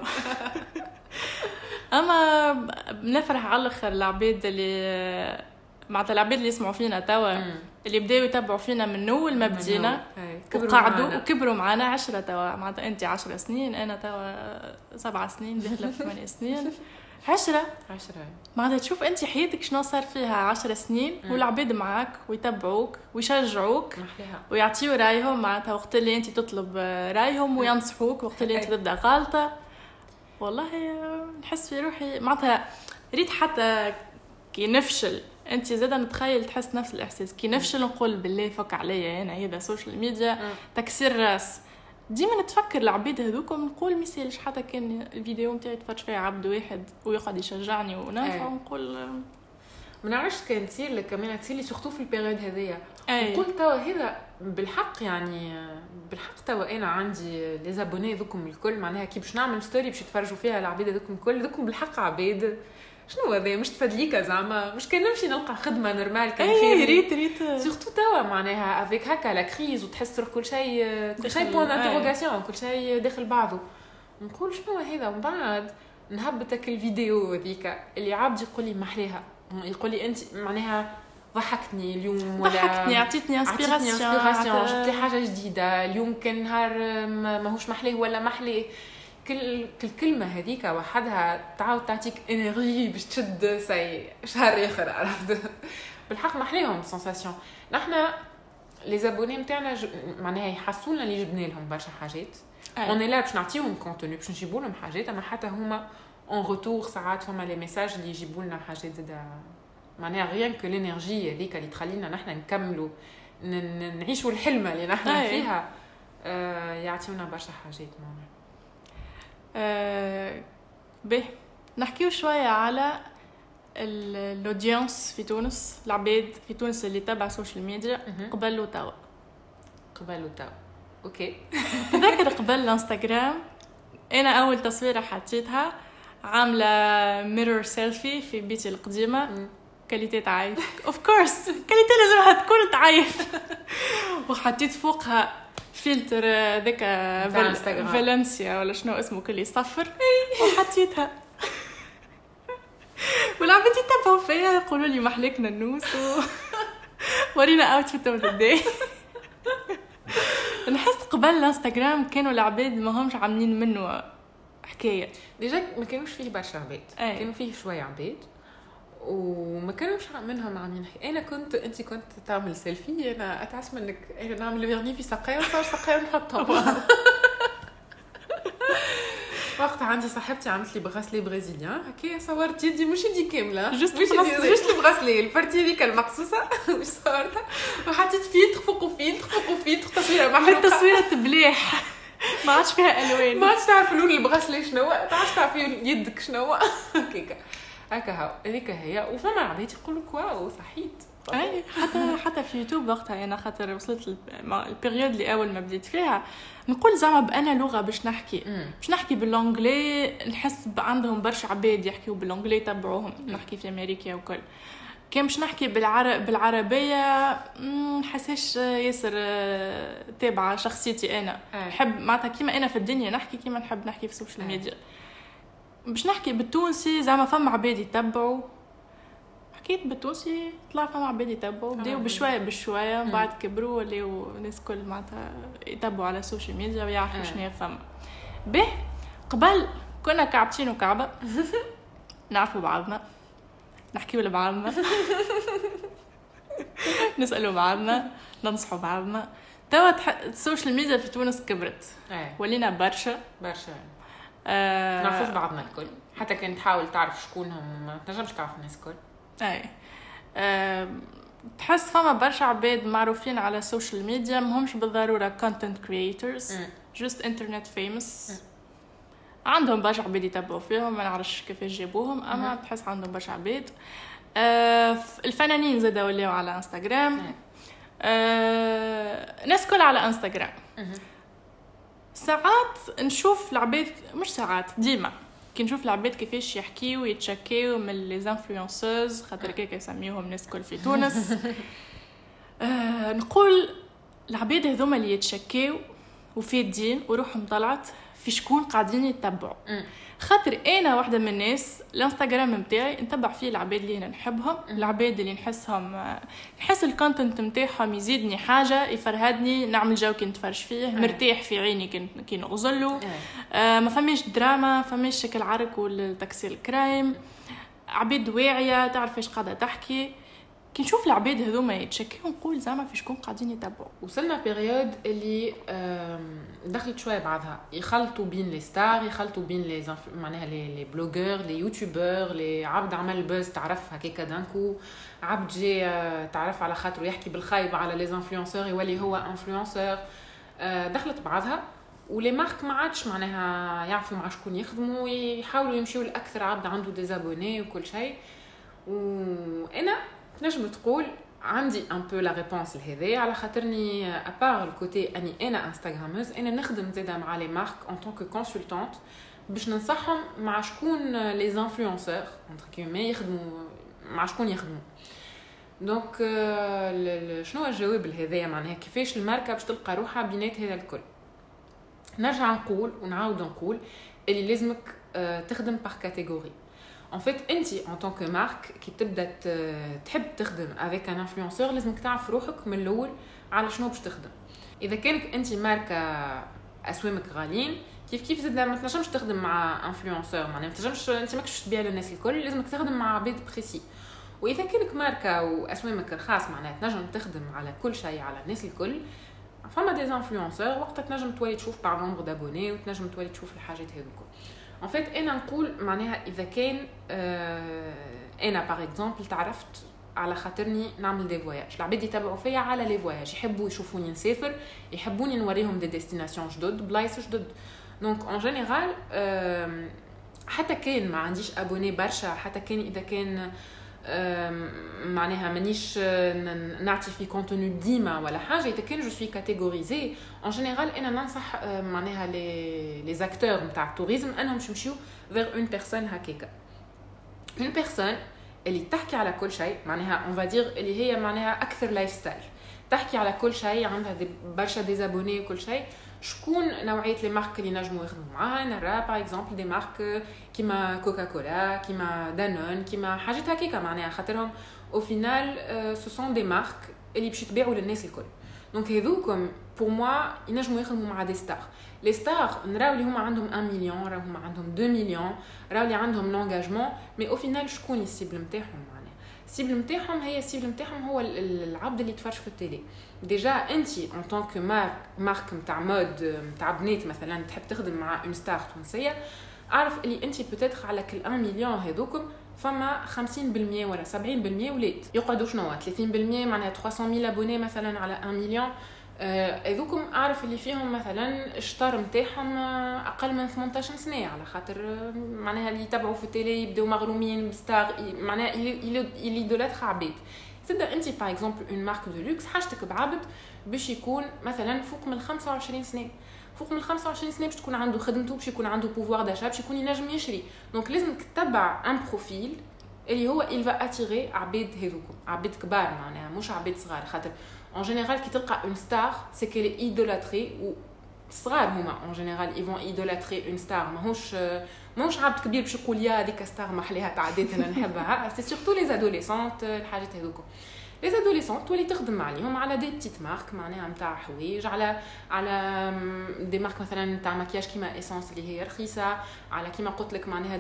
اما بنفرح على الاخر العباد اللي معناتها العباد اللي يسمعوا فينا توا اللي بداوا يتبعوا فينا من اول ما بدينا وقعدوا وكبروا معنا 10 توا، معناتها انت 10 سنين انا توا 7 سنين داخله في 8 سنين 10 معناتها تشوف انت حياتك شنو صار فيها 10 سنين والعباد معاك ويتبعوك ويشجعوك ويعطيوا رايهم، معناتها وقت اللي انت تطلب رايهم وينصحوك وقت اللي انت تبدا غلطه. والله نحس في روحي معناتها ريت حتى كي نفشل انت زاده نتخيل تحس نفس الاحساس كي نفشل نقول بالله فك عليا انا هذا سوشيال ميديا تكسير راس ديما نتفكر العباد هذوكم نقول ميسالش حتى كان الفيديو نتاعي تفرج فيه عبد واحد ويقعد يشجعني ونافع ونقول ما نعرفش كان تصير لك كمان تصير لي سورتو في البيريود هذيا نقول توا هذا بالحق يعني بالحق توا انا عندي لي زابوني ذوكم الكل معناها كي باش نعمل ستوري باش يتفرجوا فيها العباد ذوكم الكل ذوكم بالحق عباد شنو هذا مش تفدليكا زعما مش كان نمشي نلقى خدمه نورمال كان خير ريت سورتو توا معناها افيك هكا لا كريز وتحس روح كل شيء بوين انتروغاسيون كل شيء داخل بعضه نقول شنو هذا ومن بعد نهبطك الفيديو هذيك اللي عبد يقول لي محليها يقول لي انت معناها ضحكتني اليوم ولا ضحكتني عطيتني انسبيراسيون جبت لي حاجه جديده اليوم كان نهار ماهوش محليه ولا محليه كل كلمه هذيك وحدها تعاود تعطيك انرجي باش تشد سي شهر اخر عرفت بالحق محليهم سنساسيون نحنا لي زابوني نتاعنا معناها يحسونا اللي جبنا لهم برشا حاجات اون لا باش نعطيهم كونتوني باش نجيبوا لهم حاجات اما حتى هما اون روتور ساعات فما لي ميساج اللي يجيبوا لنا حاجات زاده معناها غيان كو الانرجي هذيك اللي تخلينا نحنا نكملوا نعيشوا الحلمه اللي نحنا فيها يعطيونا برشا حاجات معناها به نحكيو شويه على الاودينس في تونس العباد في تونس اللي تابع السوشيال ميديا قبل وتوا اوكي تذكر قبل الانستغرام انا اول تصويره حطيتها عامله ميرور سيلفي في بيتي القديمه كاليتي تعايف اوف كورس كاليتي لازمها تكون تعايف وحطيت فوقها فلتر ذاك فالنسيا ولا شنو اسمه كل يصفر وحطيتها والعباد يتبعوا فيا يقولوا لي محلكنا النوس ورينا اوتفيت اوف ذا داي نحس قبل الانستغرام كانوا العباد ما همش عاملين منه حكايه ديجا ما كانوش فيه برشا عباد كانوا فيه شويه عباد وما كانوش منهم عاملين انا انت كنت تعمل سيلفي انا اتعس منك انا نعمل فيرني في ساقيه وصار ساقيه نحطها وقت عندي صاحبتي عملت لي بغاسلي برازيليان هكا صورت يدي مش يدي كامله جوست البغاسلي البارتي هذيك المقصوصه مش صورتها وحطيت فيلتر فوق فيلتر تصويره محروقه التصويره تبليح ما عادش فيها الوان ما عادش تعرف لون البغاسلي شنو تعرف تعرف يدك شنو هكا هذيك هي وفما عباد يقولوا واو صحيت اي حتى في يوتيوب وقتها انا خاطر وصلت البيريود اللي اول ما بديت فيها نقول زعما بانا لغه باش نحكي بالانجلي نحس عندهم برشا عباد يحكيوا بالانجلي تبعوهم نحكي في امريكا وكل كان باش نحكي بالعربيه نحسش ياسر تابعه شخصيتي انا نحب معناتها كيما انا في الدنيا نحكي كيما نحب نحكي في السوشيال ميديا باش نحكي بالتونسي زعما فما عباد يتبعوا حكيت بالتونسي طلع فما عباد يتبعوا بداو بشويه بعد كبروا ولاو الناس كل معناتها يتبعوا على السوشيال ميديا ويعرفوا شنو فما به قبل كنا كعبتين وكعبه نعرفوا بعضنا نحكيوا لبعضنا نسالوا بعضنا ننصحوا بعضنا توا السوشيال ميديا في تونس كبرت ولينا برشا نعرفوا بعضنا الكل حتى كان تحاول تعرف شكونهم ما تنجمش تعرف الناس الكل تحس فما برشا عباد معروفين على السوشيال ميديا مهمش بالضروره content creators just internet famous عندهم برشا عباد يتبعوا فيهم ما نعرفش كيفاش جابوهم اما تحس عندهم برشا عباد الفنانين زادوا ولاو على انستغرام ناس كل على انستغرام ساعات نشوف العباد مش ساعات ديما كي نشوف العباد كيفاش يحكيوا ويتشكيوا من لي انفلونسوز خاطر كيك يسميوهم ناس كل في تونس نقول العباد هذوما اللي يتشكيوا وفي الدين وروحهم طلعت في شكون قاعدين يتبعوا خاطر انا واحده من الناس الانستغرام نتاعي نتبع فيه العباد اللي انا نحبهم العباد اللي نحس الكونتنت نتاعهم يزيدني حاجه يفرهدني نعمل جو كي نتفرج فيه مرتاح في عيني كي نغزله ما فماش دراما فماش شكل عرك والتكسير الكرايم عباد واعيه تعرف ايش قاعده تحكي كي نشوف العباد هذوما يتشكيو نقول زعما في شكون قاعدين يتبعوا. وصلنا بيريود اللي دخلت شويه بعضها يخلطوا بين لي ستار، يخلطوا بين لي معناها لي بلوغور، لي يوتيوبر، لي عبد عمل بوز تعرف هكاك دانكو، عبد جي تعرف على خاطره يحكي بالخايب على لي انفلونسور يولي هو انفلونسور. دخلت بعضها ولي مارك ما عادش معناها يعرفوا مع شكون يخدموا ويحاولوا يمشيوا لاكثر عبد عنده ديزابوني وكل شيء. وانا نجم تقول عندي ان بو لا ريبونس لهذا على خاطرني ابار الكوتي اني انا انستغراموز، انا نخدم زاده مع لي مارك ان طونك كونسلتانت باش ننصحهم مع شكون لي انفلونسور انتر كيمي يخدموا مع شكون يخدموا. دونك شنو الجواب لهذا معناها كيفاش الماركه باش تلقى روحها بينات هذا الكل. نرجع نقول ونعاود نقول اللي لازمك تخدم بار كاتيجوري. En fait, انت en tant que marque كي تبدا تحب تخدم avec un influenceur لازمك تعرف روحك من الاول على شنو باش تخدم. اذا كانك انت ماركه اسوامك غاليين كيف زاد ما تنجمش تخدم مع انفلونسور، معناها ما تنجمش انت ماكش تبيع للناس الكل، لازمك تخدم مع عباد بريسي. واذا كانك ماركه واسوامك رخاص معناها تنجم تخدم على كل شيء على الناس الكل، فما دي انفلونسور وقتها تنجم تولي تشوف بار نومبر دابوني وتنجم تولي تشوف الحاجات هذوك. En fait انا نقول معناها اذا كان انا باغ اكزومبل تعرفت على خاطرني نعمل دي فواياج، العباد يتابعوا فيا على لي فواياج، يحبوا يشوفوني نسافر، يحبوني نوريهم دي ديستيناسيون جدد، بلايص جدد. دونك اون جينيرال حتى كان ما عنديش ابوني برشا، حتى كان اذا كان معناها مانيش نعطي في كونتوني ديما ولا حاجه، اذا كان جو سوي كاتيجوريزي اون جينيرال انا ننصح معناها لي زاكتور نتاع التوريزم انهم يمشيو فيغ اون بيرسون هكاكا، اون بيرسون اللي تحكي على كل شيء، معناها اون فادير اللي هي معناها اكثر لايف ستايل، تحكي على كل شيء، عندها برشا ديزابوني وكل شيء. شكون نوعيه لي مارك اللي نجموا يخدموا معاها؟ نرى باغ اكزومبل دي مارك كيما كوكاكولا، كيما دانون، كيما حاجات هكاكا، معناها خاطرهم او فينال سو سون دي مارك اللي باش يتباعوا للناس الكل. دونك هذوكم بور موا ينجموا يخدموا مع دي ستار. لي ستار نراو اللي هما عندهم 1 مليون، راهو هما عندهم 2 مليون، راهو اللي عندهم لونجاجمون، مي او فينال شكون السيبل نتاعهم؟ معناها السيبل نتاعهم هي السيبل نتاعهم هو العبد اللي يتفرج في التيلي. ديجا انت ان طونك مارك نتاع مود نتاع بنات مثلا تحب تخدم مع اون ستار تونسيه، اعرف اللي انت بوتيتر على كل 1 مليون هذوكم فما 50% ولا 70% ولاد يقعدوا شنو 30%، معناها 300,000 ابوني مثلا على 1 مليون. هذوكم اعرف اللي فيهم مثلا الشطار نتاعهم اقل من 18 سنه، على خاطر معناها اللي يتبعوا في التيلي يبداو مغرومين بستار، معناها اللي دولات عبيد. تبدا انت باغ اكزومبل اون مارك دو لوكس حاجتك بعبد باش يكون مثلا فوق من 25 سنه، فوق من 25 سنه باش تكون عنده خدمته، باش يكون عنده بوفوار داشا، باش يكون ينجم يشري. دونك لازمك تتبع ان بروفيل اللي هو il va attirer عباد هذوكم، عباد كبار معناها مش عباد صغار، خاطر en général كي تلقى une star c'est qu'elle est idolâtrée، و صغار هما en général ils vont idolâtrer une star، ماهوش عبد كبير باش يقول يا هذيك ستار محليها تعديت انا نحبها. سي سورتو لي زادوليسونت الحاجات هذوكم، لي زادوليسونت تولي تخدم عليهم على دي بتيت مارك معناها نتاع حوايج، على دي مارك مثلا نتاع مكياج كيما اسانس اللي هي رخيصه، على كيما قلت لك معناها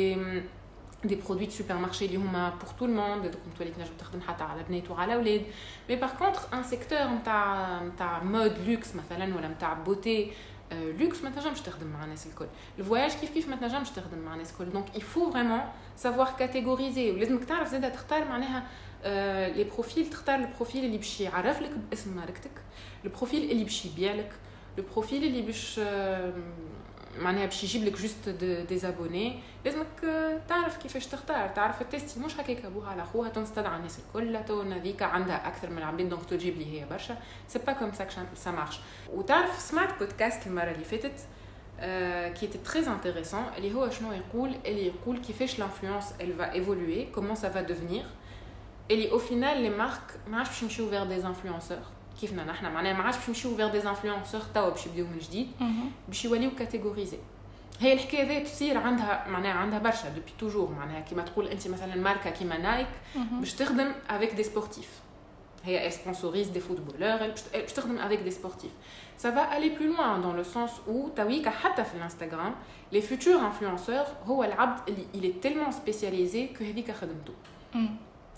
دي برودوي دو سوبر مارشي اللي هما بور تو الموند، دوكم تولي تنجم تخدم حتى على بنات وعلى اولاد. مي باغ كونطخ ان سيكتور نتاع مود لوكس مثلا ولا نتاع بوتي لوكس ما تنجمش تخدم مع الناس الكل. الفواياج كيف ما تنجمش تخدم مع الناس الكل. دونك يفو فريمون سافوار كاتيجوريزي، ولازمك تعرف زاده تختار معناها لي بروفيل، تختار البروفيل اللي باش يعرف لك باسم ماركتك، البروفيل اللي باش يبيع لك، البروفيل اللي باش معناها باش يجيب لك جوست دي زابوني. لازمك تعرف كيفاش تختار، تعرف التيستي مش هكاك ابوها على اخوها تنستدعى الناس الكل تو نذيك عندها اكثر من عباد دونك تجيب لي هي برشا. سي با كوم سا مارش. وتعرف سمعت بودكاست المره اللي فاتت كي تي تري انتريسون اللي هو شنو يقول، اللي يقول كيفاش لانفلونس elle va évoluer comment ça va devenir، اللي au final les marques ما عادش باش يمشيو vers des influenceurs كيفنا نحنا، معناها ما عادش باش نمشيو فيغ دي انفلونسور توا باش يبداو من جديد، باش يوليو كاتيجوريزي. هي الحكايه هذه تصير عندها برشا دوبي توجور، معناها كيما تقول انت مثلا ماركه كيما نايك باش تخدم افيك دي سبورتيف، هي سبونسوريز دي فوتبولور، باش تخدم افيك دي سبورتيف. ça va aller plus loin dans le sens où تويكا حتى في الانستغرام les futurs influenceurs هو العبد اللي il est tellement spécialisé que هذيك خدمته.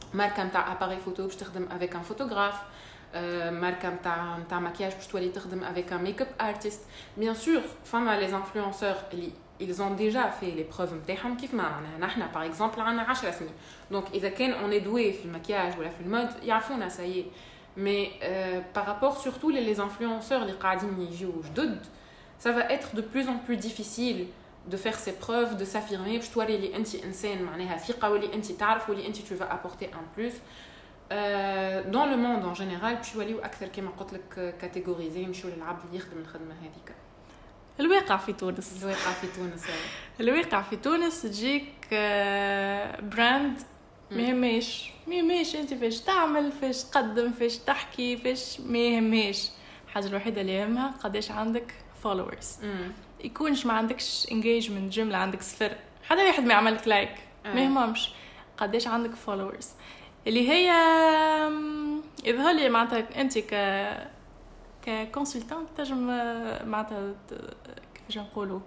ماركه نتاع اباري فوتو باش تخدم افيك ان فوتوغراف، ماركه نتاع ماكياج باش تولي تخدم افيك ان ميك اب ارتست. بيان سور فما لي انفلونسور اللي ils ont déjà fait les preuves نتاعهم كيف ما معناها نحنا باغ اكزومبل عندنا 10 سنين، دونك اذا كان اون ادوي في المكياج ولا في المود يعرفونا سايي. مي بارابور سورتو لي انفلونسور اللي قاعدين يجيو جدد ça va être de plus en plus difficile de faire ses preuves, de s'affirmer باش توري لي انت انسان معناها ثقه واللي انت تعرف واللي انت tu vas apporter un plus. dans le monde en général باش يوليو اكثر كما قلت لك كاتيجوريزي نمشيو للعبد اللي يخدم الخدمه هذيك. الواقع في تونس الواقع في تونس تجيك براند ما يهمش انت فاش تعمل، فاش تقدم، فاش تحكي، فاش ما يهمش. الحاجه الوحيده اللي يهمها قداش عندك followers. يكونش ما عندكش engagement جمله عندك صفر، حدا واحد ما يعملك لايك ما يهمش، قداش عندك followers اللي هي يظهر لي معناتها انت ككونسلتانت تنجم معناتها كيفاش نقولوا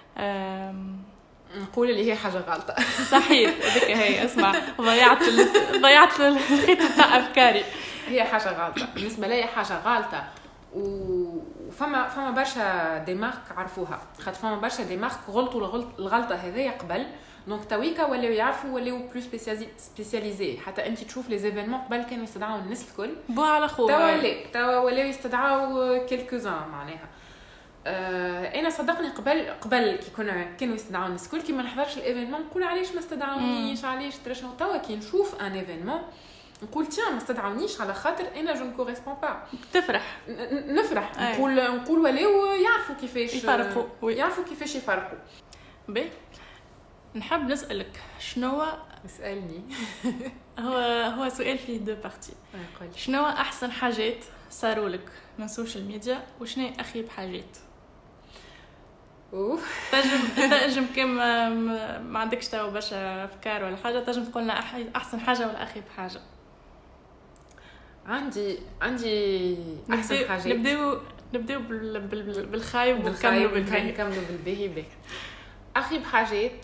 نقول اللي هي حاجه غلطه. صحيح هذيك هي. اسمع ضيعت الخيط تاع افكاري. هي حاجه غلطه بالنسبه لي، حاجه غلطه. وفما برشا ديمارك عرفوها، خاطر فما برشا ديمارك غلطوا الغلطه هذيا قبل، دونك تويكا ولاو يعرفوا ولاو بلوس سبيسياليزي. حتى انت تشوف لي زيفينمون قبل كانوا يستدعوا الناس الكل بو على خويا، توا ولاو يستدعوا كيلكوزان معناها. انا صدقني قبل كي كانوا يستدعوا الناس الكل كي ما نحضرش الايفينمون نقول علاش ما استدعونيش، علاش ترشنو. توا كي نشوف ان ايفينمون نقول تيان ما استدعونيش على خاطر انا جو نكوريسبون با. تفرح نفرح نقول ولاو يعرفوا كيفاش يفرقوا يفرقوا. بي نحب نسألك شنو اسألني. هو سؤال فيه دو بارتي. شنو احسن حاجات صاروا لك من السوشيال ميديا وشنو اخيب حاجات؟ تنجم كما ما عندكش توا برشا افكار ولا حاجه تنجم تقولنا احسن حاجه ولا اخيب حاجه؟ عندي احسن حاجات. نبداو بالخايب ونكملوا بالباهي. اخيب حاجات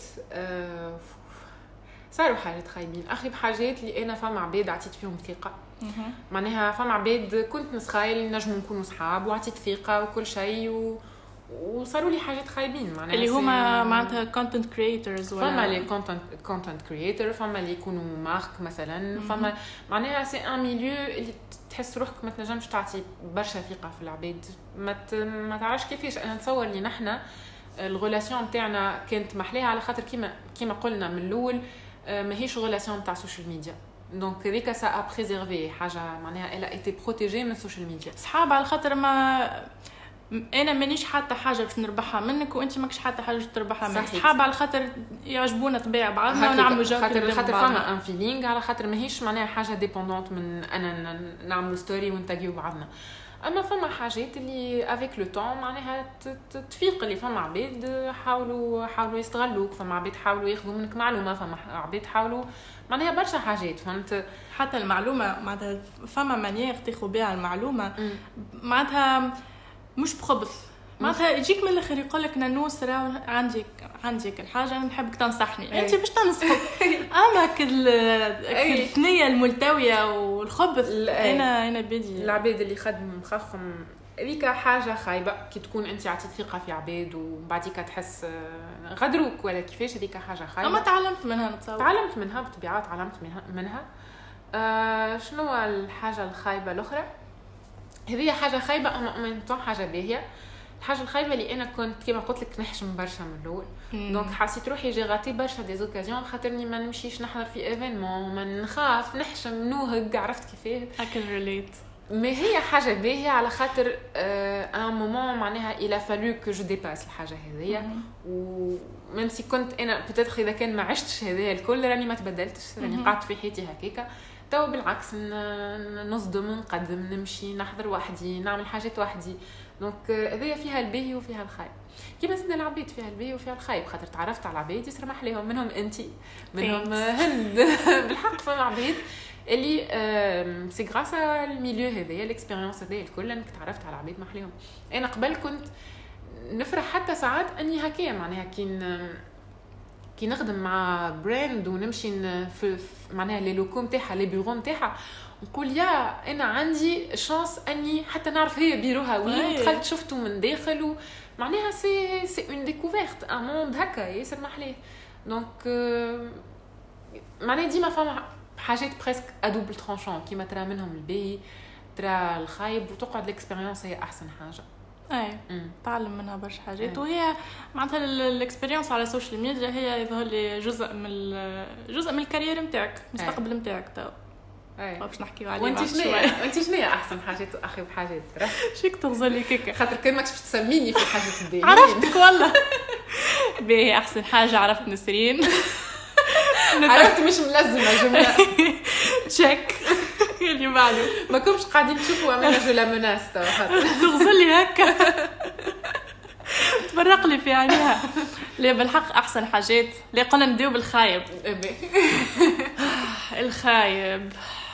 صاروا حاجات خايبين. اخيب حاجات اللي انا فما عباد عطيت فيهم ثقه، معناها فما عباد كنت نسخايل نجموا نكونوا صحاب وعطيت ثقه وكل شيء وصاروا لي حاجات خايبين، معناها اللي هما معناتها كونتنت كرييترز ولا فما لي كونتنت كرييتر، فما اللي يكونوا مارك مثلا، فما معناها سي ان ميليو اللي تحس روحك ما تنجمش تعطي برشا ثقه في العباد، ما تعرفش كيفاش. انا نتصور لي نحنا الغولاسيون نتاعنا كانت محليها على خاطر كيما قلنا من الاول ماهيش غولاسيون نتاع السوشيال ميديا، دونك هذيك سا ا بريزيرفي حاجه معناها الا ايتي بروتيجي من السوشيال ميديا. صحاب على خاطر ما انا مانيش حتى حاجه باش نربحها منك وانت ماكش حتى حاجه باش تربحها منك. صحاب على خاطر يعجبونا طبيعه بعضنا ونعملوا جو خاطر فما ان فيلينغ، على خاطر ماهيش معناها حاجه ديبوندونت من انا نعملوا ستوري ونتاجيو بعضنا. اما فما حاجات اللي افيك لو طون معناها تفيق اللي فما عباد حاولوا يستغلوك، فما عباد حاولوا ياخذوا منك معلومه، فما عباد حاولوا معناها برشا حاجات فهمت. حتى المعلومه معناتها فما مانيير تاخذ بها المعلومه معناتها مش بخبث، معناتها يجيك من الاخر يقول لك نانوس راه عندي الحاجه نحبك تنصحني انت باش تنصحك. اما الثنيه الملتويه والخبث انا بدي العباد اللي خدموا مخخم هذيك حاجه خايبه. كي تكون انت عطيت ثقه في عباد وبعديك تحس غدروك ولا كيفاش، هذيك حاجه خايبه. اما تعلمت منها نتصور، تعلمت منها بطبيعه، تعلمت منها. شنو الحاجه الخايبه الاخرى؟ هذه حاجه خايبه اما من طون حاجه باهيه. الحاجه الخايبه اللي انا كنت كما قلت لك نحشم برشا من الاول، دونك حسيت روحي جي غاتي برشا دي اوكازيون خاطرني ما نمشيش نحضر في ايفينمون، ما نخاف نحشم نوهق، عرفت كيفاه اكل ريليت. ما هي حاجه باهيه على خاطر ان مومون معناها الى فالو كو جو ديباس الحاجه هذيا، وميم سي كنت انا بوتيتر اذا كان ما عشتش هذايا الكل راني ما تبدلتش، راني قعدت في حياتي هكاكا. تو بالعكس نصدم، نقدم، نمشي، نحضر وحدي، نعمل حاجات وحدي. دونك هذه فيها الباهي وفيها الخايب، كيما زدنا العباد فيها الباهي وفيها الخايب، خاطر تعرفت على عباد يسر محليهم، منهم انت، منهم هند. بالحق فما عباد اللي سي غراس الميليو هذايا، الاكسبيريونس هذايا الكل، انك تعرفت على عباد محليهم. انا قبل كنت نفرح حتى ساعات اني هكايا معناها كي نخدم مع براند ونمشي في معناها لي لوكو نتاعها لي بيرو نتاعها نقول يا انا عندي شانس اني حتى نعرف هي بيروها وين دخلت شفته من داخل معناها سي اون ديكوفيرت ان موند هكا ياسر محلاه دونك معناها ديما فما حاجات بريسك ادوبل ترانشون كيما ترى منهم الباهي ترى الخايب وتقعد الاكسبيريونس هي احسن حاجه. اي تعلم منها برشا حاجات وهي معناتها الاكسبيرينس على السوشيال ميديا هي يظهر لي جزء من الكارير نتاعك المستقبل نتاعك تو باش نحكيو عليه. وانت شنو احسن حاجات واخيب حاجات شيك تغزل لي كيكه خاطر كان ماكش باش تسميني في الحاجات الدينيه عرفتك والله باهي احسن حاجه عرفت نسرين عرفت مش ملزمه جمله تشيك اللي بعده ما كنتش قاعدين تشوفوا امانه جو لا مناس تغزل لي هكا تبرق لي في عينيها. لا بالحق احسن حاجات اللي قلنا نديو بالخايب الخايب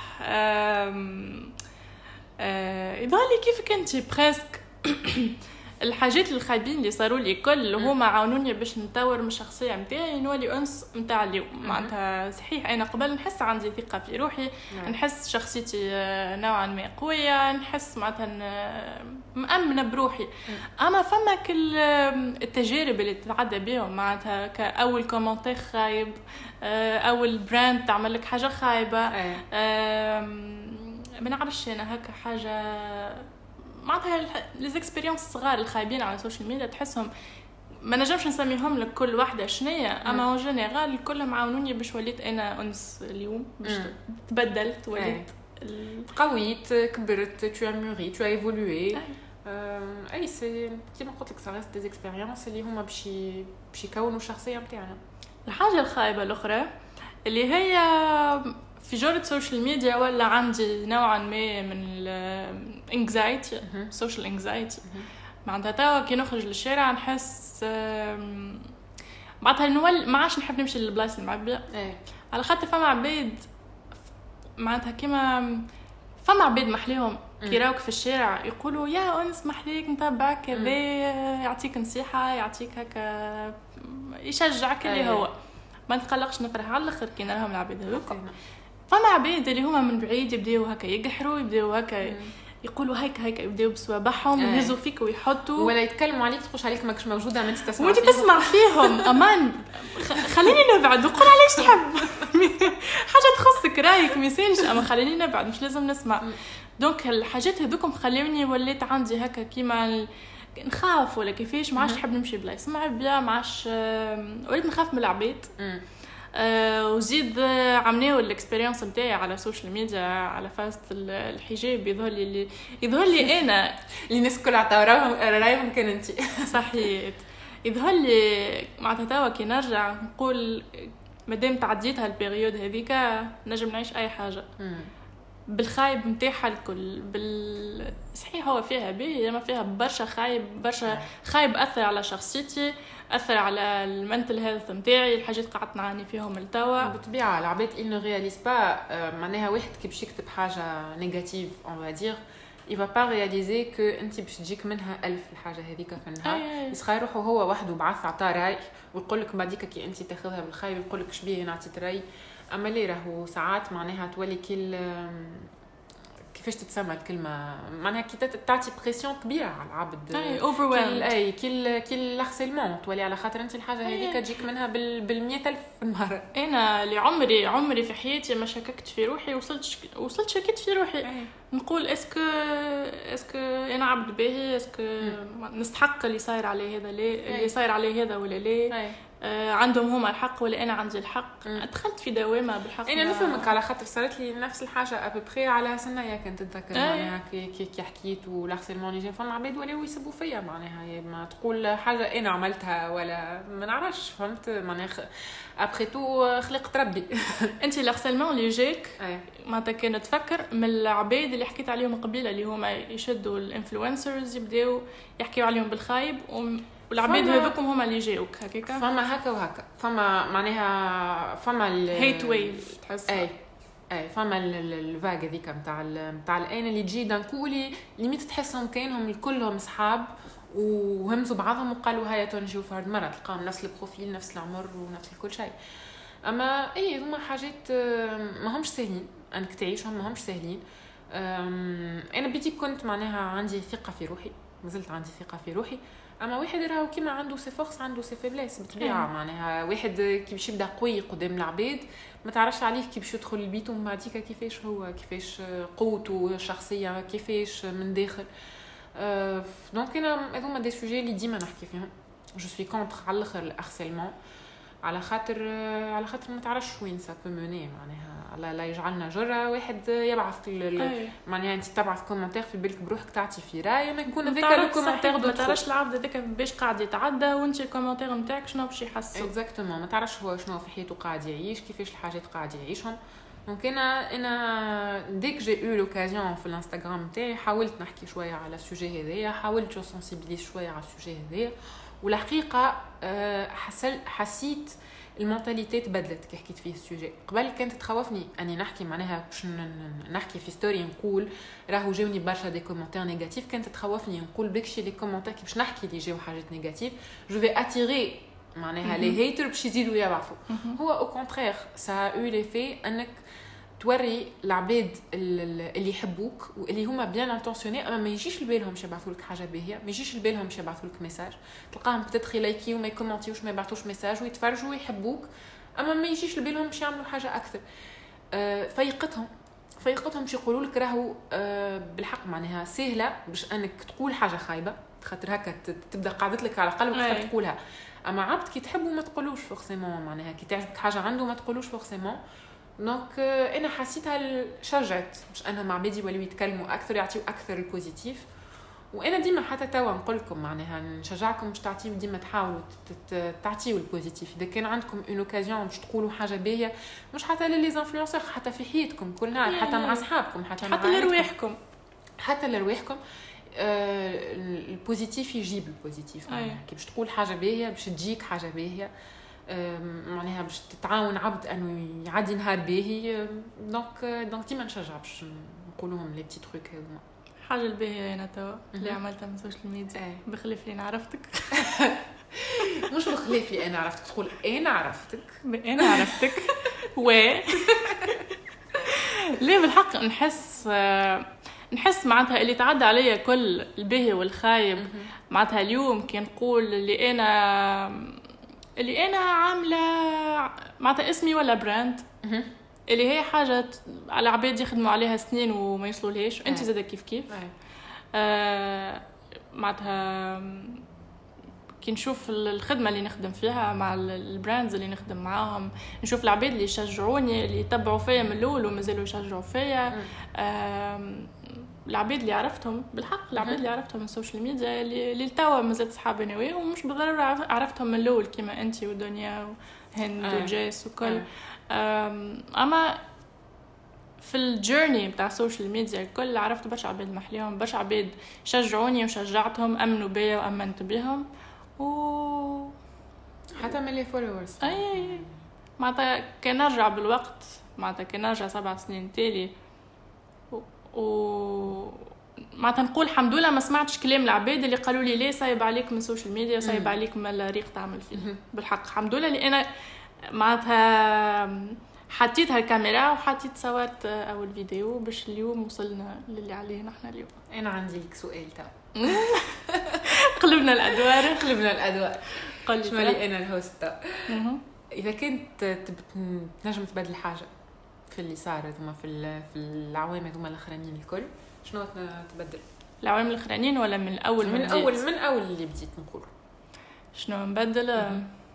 يظهر لي كيف كنتي بريسك الحاجات الخايبين اللي صاروا لي كل هما عاونوني باش نطور من الشخصيه نتاعي نولي انس نتاع اليوم. معناتها صحيح انا قبل نحس عندي ثقه في روحي نحس شخصيتي نوعا ما قويه نحس معناتها مأمنه بروحي اما فما كل التجارب اللي تتعدى بهم معناتها كاول كومنتير خايب اول براند تعمل لك حاجه خايبه ما نعرفش انا هكا حاجه معناتها لي اكسبيريونس صغار الخايبين على السوشيال ميديا تحسهم ما نجمش نسميهم لك كل واحده شنية اما اون جينيرال كلهم عاونوني باش وليت انا انس اليوم باش تبدلت وليت قويت كبرت تو اموري تو ايفولوي اي سي كيما قلت لك صارت دي اكسبيريونس اللي هما باش يكونوا الشخصيه نتاعنا. الحاجه الخايبه الاخرى اللي هي في جورة سوشيال ميديا ولا عندي نوعا ما من الانكزايتي سوشيال انكزايتي معناتها توا كي نخرج للشارع نحس معناتها ما عادش نحب نمشي للبلايص المعبيه على خاطر فما عباد معناتها كيما فما عباد محليهم كي راوك في الشارع يقولوا يا انس محليك نتابعك كذا يعطيك نصيحه يعطيك هكا يشجعك اللي هو ما نتقلقش نفرح على الاخر كي نراهم العباد هذوك. فما عباد اللي هما من بعيد يبداو هكا يقحروا يبداو هكا يقولوا هيك يبداو بصوابعهم ويهزوا فيك ويحطوا ولا يتكلموا عليك تخش عليك ماكش موجوده ما انت تسمع وانت تسمع فيهم امان خليني نبعد وقول على ايش تحب حاجه تخصك رايك ما يسالش اما خليني نبعد مش لازم نسمع. دونك الحاجات هذوكم خلوني وليت عندي هكا كيما نخاف ولا كيفاش ما عادش نحب نمشي بلايص معبيه ما عادش وليت نخاف من العباد وزيد عملوا الاكسبيرينس نتاعي على السوشيال ميديا على فاست الحجاب يظهر لي انا اللي الناس كل رايهم كان انت صحيح يظهر لي معناتها توا كي نرجع نقول مادام تعديتها البيريود هذيك نجم نعيش اي حاجه بالخايب نتاعها الكل صحيح هو فيها باهي ما فيها برشا خايب اثر على شخصيتي اثر على المنتل هيلث نتاعي الحاجات قعدت نعاني فيهم التوا بالطبيعه العباد il ne réalise pas معناها واحد كي باش يكتب حاجه نيجاتيف on va dire il va pas réaliser que انت باش تجيك منها 1000 الحاجه هذيك في النهار يسخى روحه هو وحده بعث عطا راي ويقول لك بعديك كي انت تاخذها بالخايب يقول لك شبيه نعطيك راي اما اللي راهو ساعات معناها تولي كيفاش تتسمى الكلمه معناها كي تعطي بريسيون كبيره على العبد اوفرويلد كل لارسيلمون تولي على خاطر انت الحاجه هذيك تجيك منها بال100,000 مره. انا اللي عمري في حياتي ما شككت في روحي وصلت شكيت في روحي نقول اسكو انا عبد باهي اسكو نستحق اللي صاير عليه هذا ليه اللي صاير عليه هذا ولا ليه عندهم هما الحق ولا انا عندي الحق. دخلت في دوامه بالحق انا نفهمك على خاطر صارت لي نفس الحاجه ابري على سنه كنت نتذكر معناها كي حكيت والارسيلمون اللي فما عباد ولاو يسبوا فيا معناها ما تقول حاجه انا عملتها ولا ما نعرفش فهمت معناها ابري تو خلقت ربي. انت الارسيلمون اللي جاك معناتها كانت تفكر من العباد اللي حكيت عليهم قبيله اللي هما يشدوا الانفلونسرز يبداو يحكيوا عليهم بالخايب والعباد هذوكم هما اللي جاوك هكاكا فما هكا وهكا فما معناها فما الهيت ويف تحس فما الفاغ هذيك نتاع الان اللي تجي دانكولي ليميت تحسهم كاينهم كلهم اصحاب وهمزوا بعضهم وقالوا هيا تنجي وفرد مرة تلقاهم نفس البروفيل نفس العمر ونفس كل شيء. اما اي هما حاجات ما همش سهلين انك تعيشهم، ما همش سهلين. انا بدي كنت معناها عندي ثقه في روحي، مازلت عندي ثقه في روحي. اما واحد راهو كيما عنده سي فورس عنده سي فيبليس بالطبيعه. معناها واحد كي باش يبدا قوي قدام العباد ما تعرفش عليه كي باش يدخل البيت ومن بعديك كيفاش هو، كيفاش قوته الشخصيه، كيفاش من داخل. دونك انا هذوما دي سوجي اللي ديما نحكي فيهم. جو سوي كونتر على الاخر الهارسيلمون، على خاطر ما تعرفش وين سا بو موني. معناها لا يجعلنا جرة واحد يبعث معناها انت تبعث كومنتير في بالك بروحك تعطي في راي ما يكون هذاك الكومنتير ما تعرفش العبد هذاك باش قاعد يتعدى وانت الكومنتير نتاعك شنو باش يحس اكزاكتومون. ما تعرفش هو شنو في حياته قاعد يعيش، كيفاش الحاجات قاعد يعيشهم. دونك انا ديك جي او لوكازيون في الانستغرام تاعي حاولت نحكي شويه على السوجي هذايا، حاولت سنسيبيليز شويه على السوجي هذايا. والحقيقه حسيت المونتاليتي تبدلت كي حكيت فيه السوجي. قبل كانت تخوفني اني نحكي معناها باش نحكي في ستوري نقول راهو جاوني برشا دي كومونتير نيجاتيف، كانت تخوفني نقول بكشي لي كومونتير كي باش نحكي لي جاو حاجات نيجاتيف جو في اتيري معناها لي هيتر باش يزيدوا يبعثوا. هو او كونترير سا او لي في انك توري العباد اللي يحبوك واللي هما بيان انتونسيوني، اما ما يجيش لبالهم يبعثوا لك حاجه باهيه، ما يجيش لبالهم يبعثوا لك ميساج. تلقاهم بتدخل لايكي وما يكومونتيوش ما يبعثوش ميساج ويتفرجوا ويحبوك، اما ما يجيش لبالهم باش يعملوا حاجه اكثر. فيقتهم باش يقولوا لك راهو بالحق معناها سهله باش انك تقول حاجه خايبه، خاطر هكا تبدا قاعدت لك على قلبك تحب تقولها. اما عبد كي تحبه ما تقولوش فورسيمون، معناها كي تعجبك حاجه عنده ما تقولوش فورسيمون. دونك انا حسيتها شجعت باش انا مع عبادي يوليو يتكلموا اكثر، يعطيو اكثر البوزيتيف. وانا ديما حتى توا نقول لكم معناها نشجعكم باش تعطيو ديما، تحاولوا تعطيو البوزيتيف. اذا كان عندكم اون اوكازيون باش تقولوا حاجه باهيه، مش حتى للي انفلونسور، حتى في حياتكم كل نهار، حتى مع اصحابكم، حتى لرواحكم، البوزيتيف يجيب البوزيتيف. كي باش تقول حاجه باهيه باش تجيك حاجه باهيه، معناها باش تتعاون عبد انه يعدي نهار باهي. دونك ديما نشجع باش نقولوهم لي بتي تروك هذوما. حاجه الباهيه انا توا اللي عملتها من السوشيال ميديا بخلاف اللي انا عرفتك مش بخلاف اللي انا عرفتك، تقول انا عرفتك و ليه بالحق نحس معناتها اللي تعدى عليا كل الباهي والخايب. معناتها اليوم كي نقول اللي انا عامله معناتها اسمي ولا براند اللي هي حاجه على عباد يخدموا عليها سنين وما يوصلولهاش، انت زاده كيف معناتها كي نشوف الخدمه اللي نخدم فيها مع البراندز اللي نخدم معاهم، نشوف العباد اللي يشجعوني اللي يتبعوا فيا من الاول ومازالوا يشجعوا فيا. العباد اللي عرفتهم بالحق، العباد اللي عرفتهم من السوشيال ميديا اللي توا مازالت صحابي انا وياهم، ومش بالضروره عرفتهم من الاول كيما انت ودنيا وهند وجيس وكل. اما في الجيرني بتاع السوشيال ميديا الكل عرفت برشا عباد محليهم، برشا عباد شجعوني وشجعتهم، امنوا بيا وامنت بهم، و حتى من لي فولورز. اي معناتها كان نرجع بالوقت، معناتها كان نرجع 7 سنين تالي معناتها نقول الحمد لله ما سمعتش كلام العباد اللي قالوا لي ليه صايب عليك من السوشيال ميديا، صايب عليك من الريق تعمل فيه. بالحق الحمد لله اللي انا معناتها حطيت هالكاميرا وحطيت صورت اول فيديو باش اليوم وصلنا للي عليه نحن اليوم. انا عندي لك سؤال تاع قلبنا الادوار قل شنو لي انا الهوست. اذا كنت تنجم تبدل حاجه في اللي صار هذوما في العوام هذوما الاخرانيين الكل، شنو تبدل؟ العوام الاخرانيين ولا من الاول؟ من اول اللي بديت نقول شنو نبدل.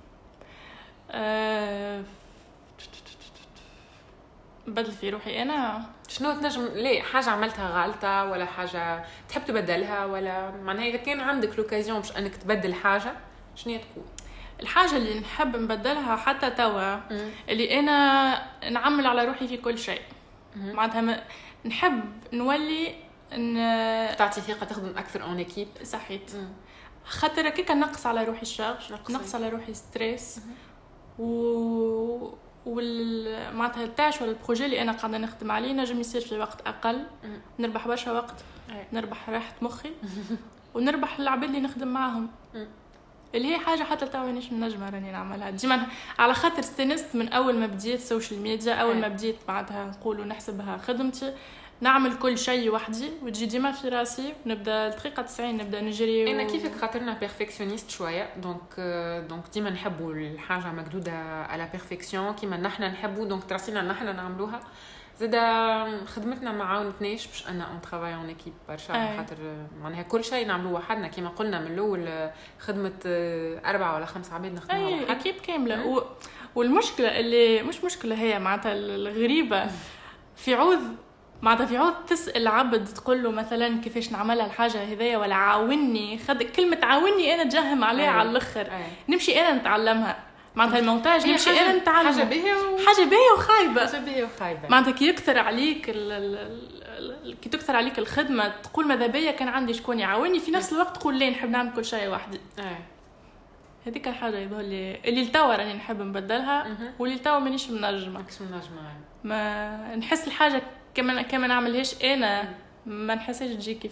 بدل في روحي انا شنو تنجم ليه حاجه عملتها غلطه ولا حاجه تحب تبدلها، ولا معناها اذا كان عندك لوكازيون باش انك تبدل حاجه شنو تكون الحاجه اللي نحب نبدلها حتى توا؟ اللي انا نعمل على روحي في كل شيء. معناتها نحب نولي تعطي ثقه تخدم اكثر اون ايكيب. صحيت خاطر هكاك نقص على روحي الشغل، نقص على روحي ستريس، معناتها التاش ولا البروجي اللي انا قاعده نخدم عليه نجم يصير في وقت اقل، نربح برشا وقت، نربح راحه مخي ونربح العباد اللي نخدم معاهم، اللي هي حاجه حتى تو مانيش نجمه راني نعملها ديما، على خاطر استنست من اول ما بديت السوشيال ميديا، اول ما بديت بعدها نقولوا نحسبها خدمتي، نعمل كل شيء وحدي وتجي ديما في راسي، نبدا الدقيقه 90 نبدا نجري انا كيفك خاطرنا بيرفكسيونيست شويه، دونك ديما نحبوا الحاجه مقدوده على بيرفكسيون كيما نحن نحبوا، دونك تراسينا نحن نعملوها. زادا خدمتنا ما عاونتناش باش انا اون ترافاي اون ايكيب برشا، خاطر معناها كل شيء نعملوه وحدنا كيما قلنا من الاول، خدمه 4 ولا 5 عباد نخدموها وحدنا، اكيب كامله. والمشكله اللي مش مشكله هي معناتها الغريبه في عوض تسأل عبد تقول له مثلا كيفاش نعملها الحاجه هذيا ولا عاوني، كلمه عاوني انا تجهم عليها على الاخر، نمشي انا نتعلمها معناتها المونتاج، نمشي انا نتعلم حاجه باهيه وخايبه معناتها كي يكثر عليك الخدمه تقول ماذا بيا كان عندي شكون يعاوني، في نفس الوقت تقول ليه نحب نعمل كل شيء وحدي. هذيك الحاجه يظهر لي اللي لتوا راني نحب نبدلها، واللي لتوا مانيش منجمه ما نحس الحاجه كما نعملهاش انا ما نحسش تجي كيف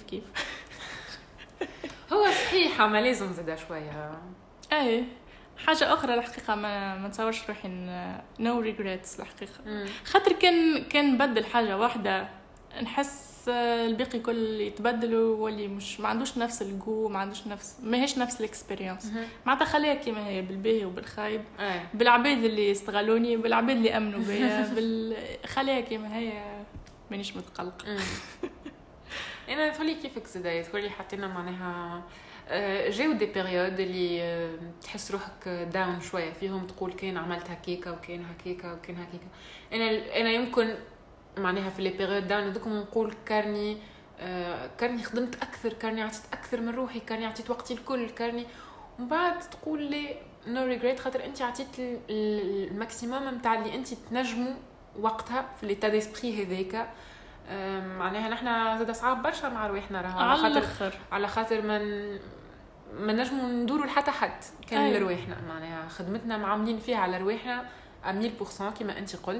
هو صحيح ما لازم زاده شويه. حاجه اخرى الحقيقه ما نتصورش روحي نو ريغريتس الحقيقه، خاطر كان نبدل حاجه واحده نحس الباقي كل يتبدل واللي مش ما عندوش نفس الجو، ما عندوش ماهيش نفس الاكسبيرينس، معناتها خليها كيما هي بالباهي وبالخايب، بالعباد اللي استغلوني بالعباد اللي امنوا بيا خليها كيما هي مانيش متقلق. انا تقولي كيفك زدايا تقولي حطينا معناها جاو دي بيريود اللي تحس روحك داون شويه فيهم، تقول كان عملت هكيكه وكان هكيكه وكان هكيكه. انا يمكن معناها في لي بيريود داون هذوك نقول كارني خدمت اكثر، كارني عطيت اكثر من روحي، كارني عطيت وقتي الكل، كارني ومن بعد تقول لي نو ريغريت خاطر انت عطيت الماكسيموم نتاع اللي انت تنجموا وقتها في ليتا ديسبري هذاك. معناها نحنا زاد صعب برشا مع رواحنا راهو على خاطر ما نجموا ندوروا لحتى حد كان لرواحنا، معناها خدمتنا معاملين فيها على رواحنا 100% كما انت قلت.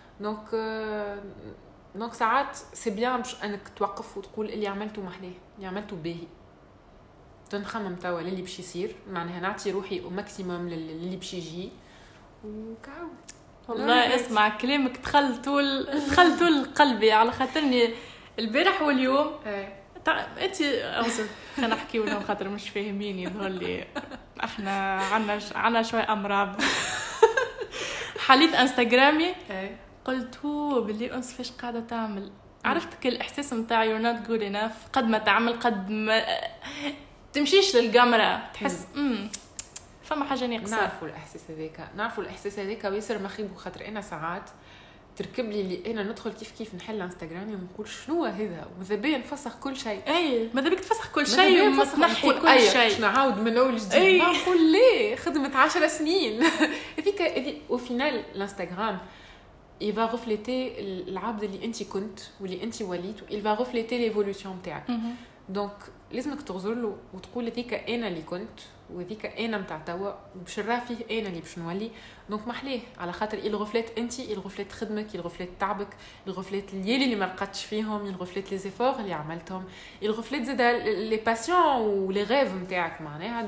دونك ساعات سي بيان باش انك توقف وتقول اللي عملته محلاه، اللي عملته باهي، تنخمم توا اللي باش يصير، معناها نعطي روحي او ماكسيموم للي باش يجي وكاو. والله اسمع كلامك دخل طول قلبي، على خاطرني البارح واليوم انت خلينا نحكيو لهم خاطر مش فاهمين يظهر لي احنا عنا شويه امراض. حليت انستغرامي قلت هو باللي انس فاش قاعده تعمل، عرفت كل الاحساس نتاع يو نوت جود انف، قد ما تعمل قد ما تمشيش للكاميرا تحس فما حاجه ناقصه. نعرفوا الاحساس هذاك ويصير مخيب، خاطر انا ساعات تركب لي اللي انا ندخل كيف نحل انستغرامي ونقول شنو هذا، وماذا بيا نفسخ كل شيء. ماذا بيك تفسخ كل شيء وتنحي كل شيء، نعاود من اول جديد. نقول ليه خدمت 10 سنين هذيك وفينال الانستغرام il va refléter العبد اللي انت كنت واللي انت وليت، il va refléter l'évolution تاعك. دونك لازمك تغزر له وتقول هذيك انا اللي كنت وهذيك انا نتاع توا باش نراه فيه انا اللي باش نولي. دونك محليه على خاطر il reflète انت، il reflète خدمك، il reflète تعبك، il reflète اللي ما لقاتش فيهم، il reflète les efforts اللي عملتهم، il reflète زاد les passions و les rêves نتاعك معناها.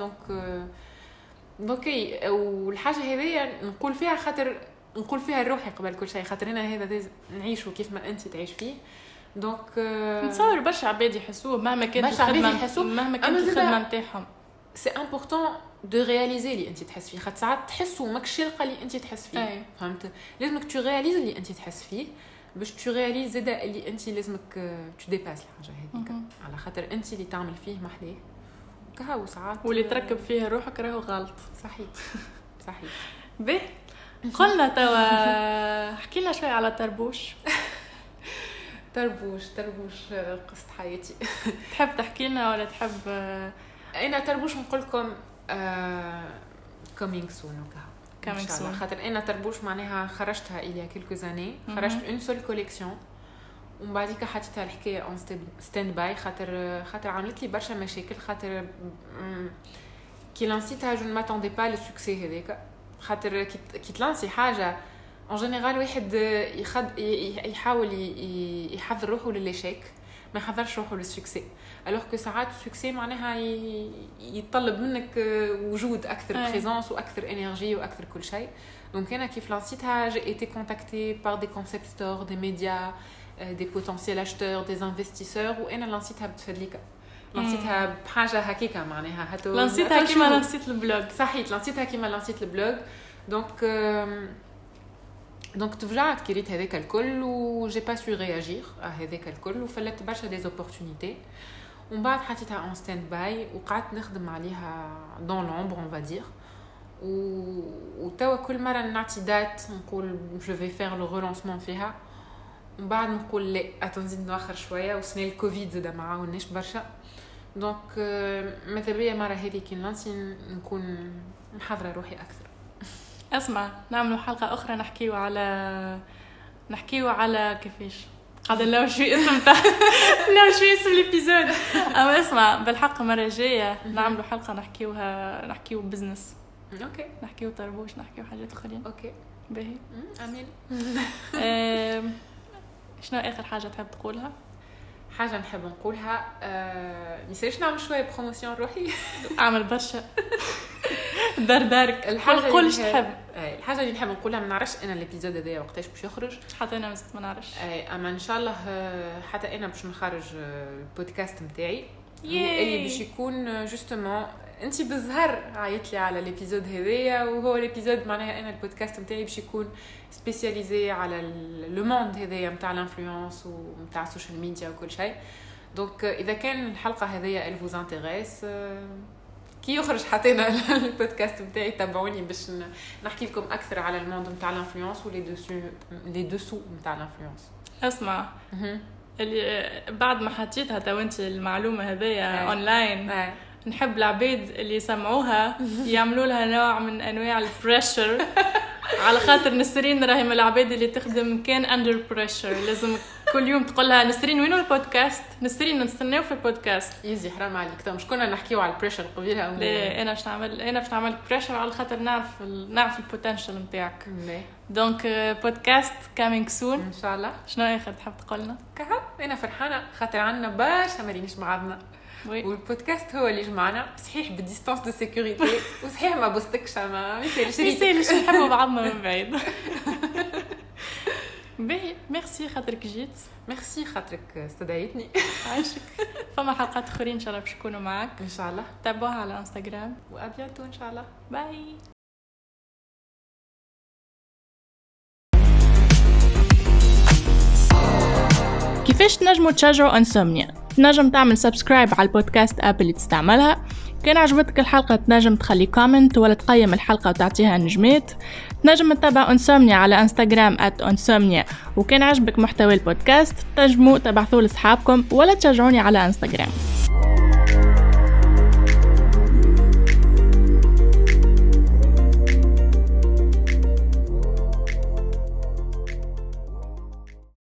دونك والحاجه هذه نقول فيها خاطر نقول فيها روحي قبل كل شيء، خاطر انا هذا نعيشه كيف ما انت تعيش فيه. دونك نتصور برشا عباد يحسوه مهما كانت الخدمه نتاعهم. سي امبورطون دو رياليزي اللي انت تحس فيه، خاطر ساعات تحسوا ماكش القى اللي انت تحس فيه. فهمت؟ لازمك تو رياليز اللي انت تحس فيه باش تو رياليز زاد اللي انت لازمك تو ديباس الحاجه هذيك، على خاطر انت اللي تعمل فيه محليه كهو ساعات واللي تركب فيها روحك راهو غلط. صحيح به قلنا توا حكينا شوي على طربوش. طربوش قصة حياتي. تحب تحكي لنا ولا تحب؟ انا طربوش نقول لكم coming soon coming soon، خاطر انا طربوش معناها خرجتها الى quelques années، خرجت اون سول كوليكسيون ومن بعديك حطيتها الحكايه اون ستاند باي خاطر عملت لي برشا مشاكل، خاطر كي لانسيتها جو ما تاندي با لو سوكسي هذاك، خاطر كي تلانسي حاجه ان جينيرال واحد يحاول يحضر روحه للشيك، ما يحضرش روحه للسكسي. الوغ كو ساعات السكسي معناها يتطلب منك وجود اكثر، بريزونس واكثر انرجي واكثر كل شيء. دونك انا كيف لانسيتها جي ايتي كونتاكتي بار دي كونسيبتور، دي ميديا، دي بوتنسيال اشتور، دي انفستيسور، وانا لانسيتها بتفدليكا، لانسيتها بحاجه هكيكا معناها هاتو لانسيتها كيما لانسيت البلوج. صحيت، لانسيتها كيما لانسيت البلوج. دونك تفجعت كي ريت هذاك الكل و جي با سو رياجير هذاك الكل، وفلت برشا دي زوبورتونيتي. ومن بعد حطيتها اون ستاند باي وقعدت نخدم عليها دون لومبر اون فادير. وتوا كل مره نعطي دات نقول جو في فير لو ريلانسمون فيها، ومن بعد نقول لا اتنزيد ناخر شويه، وسنه الكوفيد زاد ما عاوناش برشا. دونك ماذا بيا مره هذه كي نلانسي نكون محضره روحي اكثر. اسمع، نعملوا حلقه اخرى نحكيو على كيفاش قاعده لو شو اسم تاع لو شو اسم الابيزود. اما اسمع، بالحق مره جايه نعملوا حلقه نحكيو بزنس. اوكي، نحكيو طربوش، نحكيو حاجات اخرين. اوكي باهي. امين. شنو اخر حاجه تحب تقولها؟ حاجه نحب نقولها ميساش نعمل شويه بروموسيون روحي. اعمل برشا دارك. الحاجه اللي تحب، الحاجه اللي نحب نقولها، ما نعرفش انا الابيزود هذا وقتاش باش يخرج، حتى انا مازلت ما نعرفش. اما ان شاء الله حتى انا باش نخرج البودكاست نتاعي اللي باش يكون جوستومون انت بالظهر عيط لي على الابيزود هذايا، وهو الابيزود معناها انا البودكاست نتاعي باش يكون سبيسياليزي على لو موند هذايا نتاع الانفلونس ونتاع السوشيال ميديا وكل شيء. دونك اذا كان الحلقه هذيا elle vous intéresse كي يخرج حتى انا البودكاست نتاعي تابعوني باش نحكي لكم اكثر على الموند نتاع الانفلونس ولي دوسو نتاع الانفلونس. اسمع، اللي بعد ما حطيتها تو انت المعلومه هذيا اونلاين، نحب العبيد اللي يسمعوها يعملوا لها نوع من انواع البريشر، على خاطر نسرين راهي من العبيد اللي تخدم كان اندر بريشر. لازم كل يوم تقول لها نسرين وينو البودكاست، نسرين نستناو في البودكاست. يزي حرام عليك، تو مش كنا نحكيو على البريشر قبيلها؟ لا، انا باش نعمل بريشر على خاطر نعرف البوتنشال نتاعك. دونك بودكاست كامينغ سون ان شاء الله. شنو اخر تحب تقول لنا؟ انا فرحانه خاطر عندنا برشا مارينيش معنا، والبودكاست هو اللي جمعنا، صحيح بالديستانس دو سيكوريتي، وصحيح ما بوستكش، ما يسالش نحبوا بعضنا من بعيد. باهي، ميرسي خاطرك جيت. ميرسي خاطرك استدعيتني. عايشك. فما حلقات اخرين ان شاء الله باش يكونوا معك ان شاء الله. تابعوها على انستغرام، وابيانتو ان شاء الله. باي. كيفاش تنجموا تشجعوا انسومنيا؟ تنجم تعمل سبسكرايب على البودكاست اب اللي تستعملها. كان عجبتك الحلقة تنجم تخلي كومنت ولا تقيم الحلقة وتعطيها نجمات. تنجم تتابع انسومنيا على انستغرام @insomnia. وكان عجبك محتوى البودكاست تنجموا تبعثوا لأصحابكم ولا تشجعوني على انستغرام.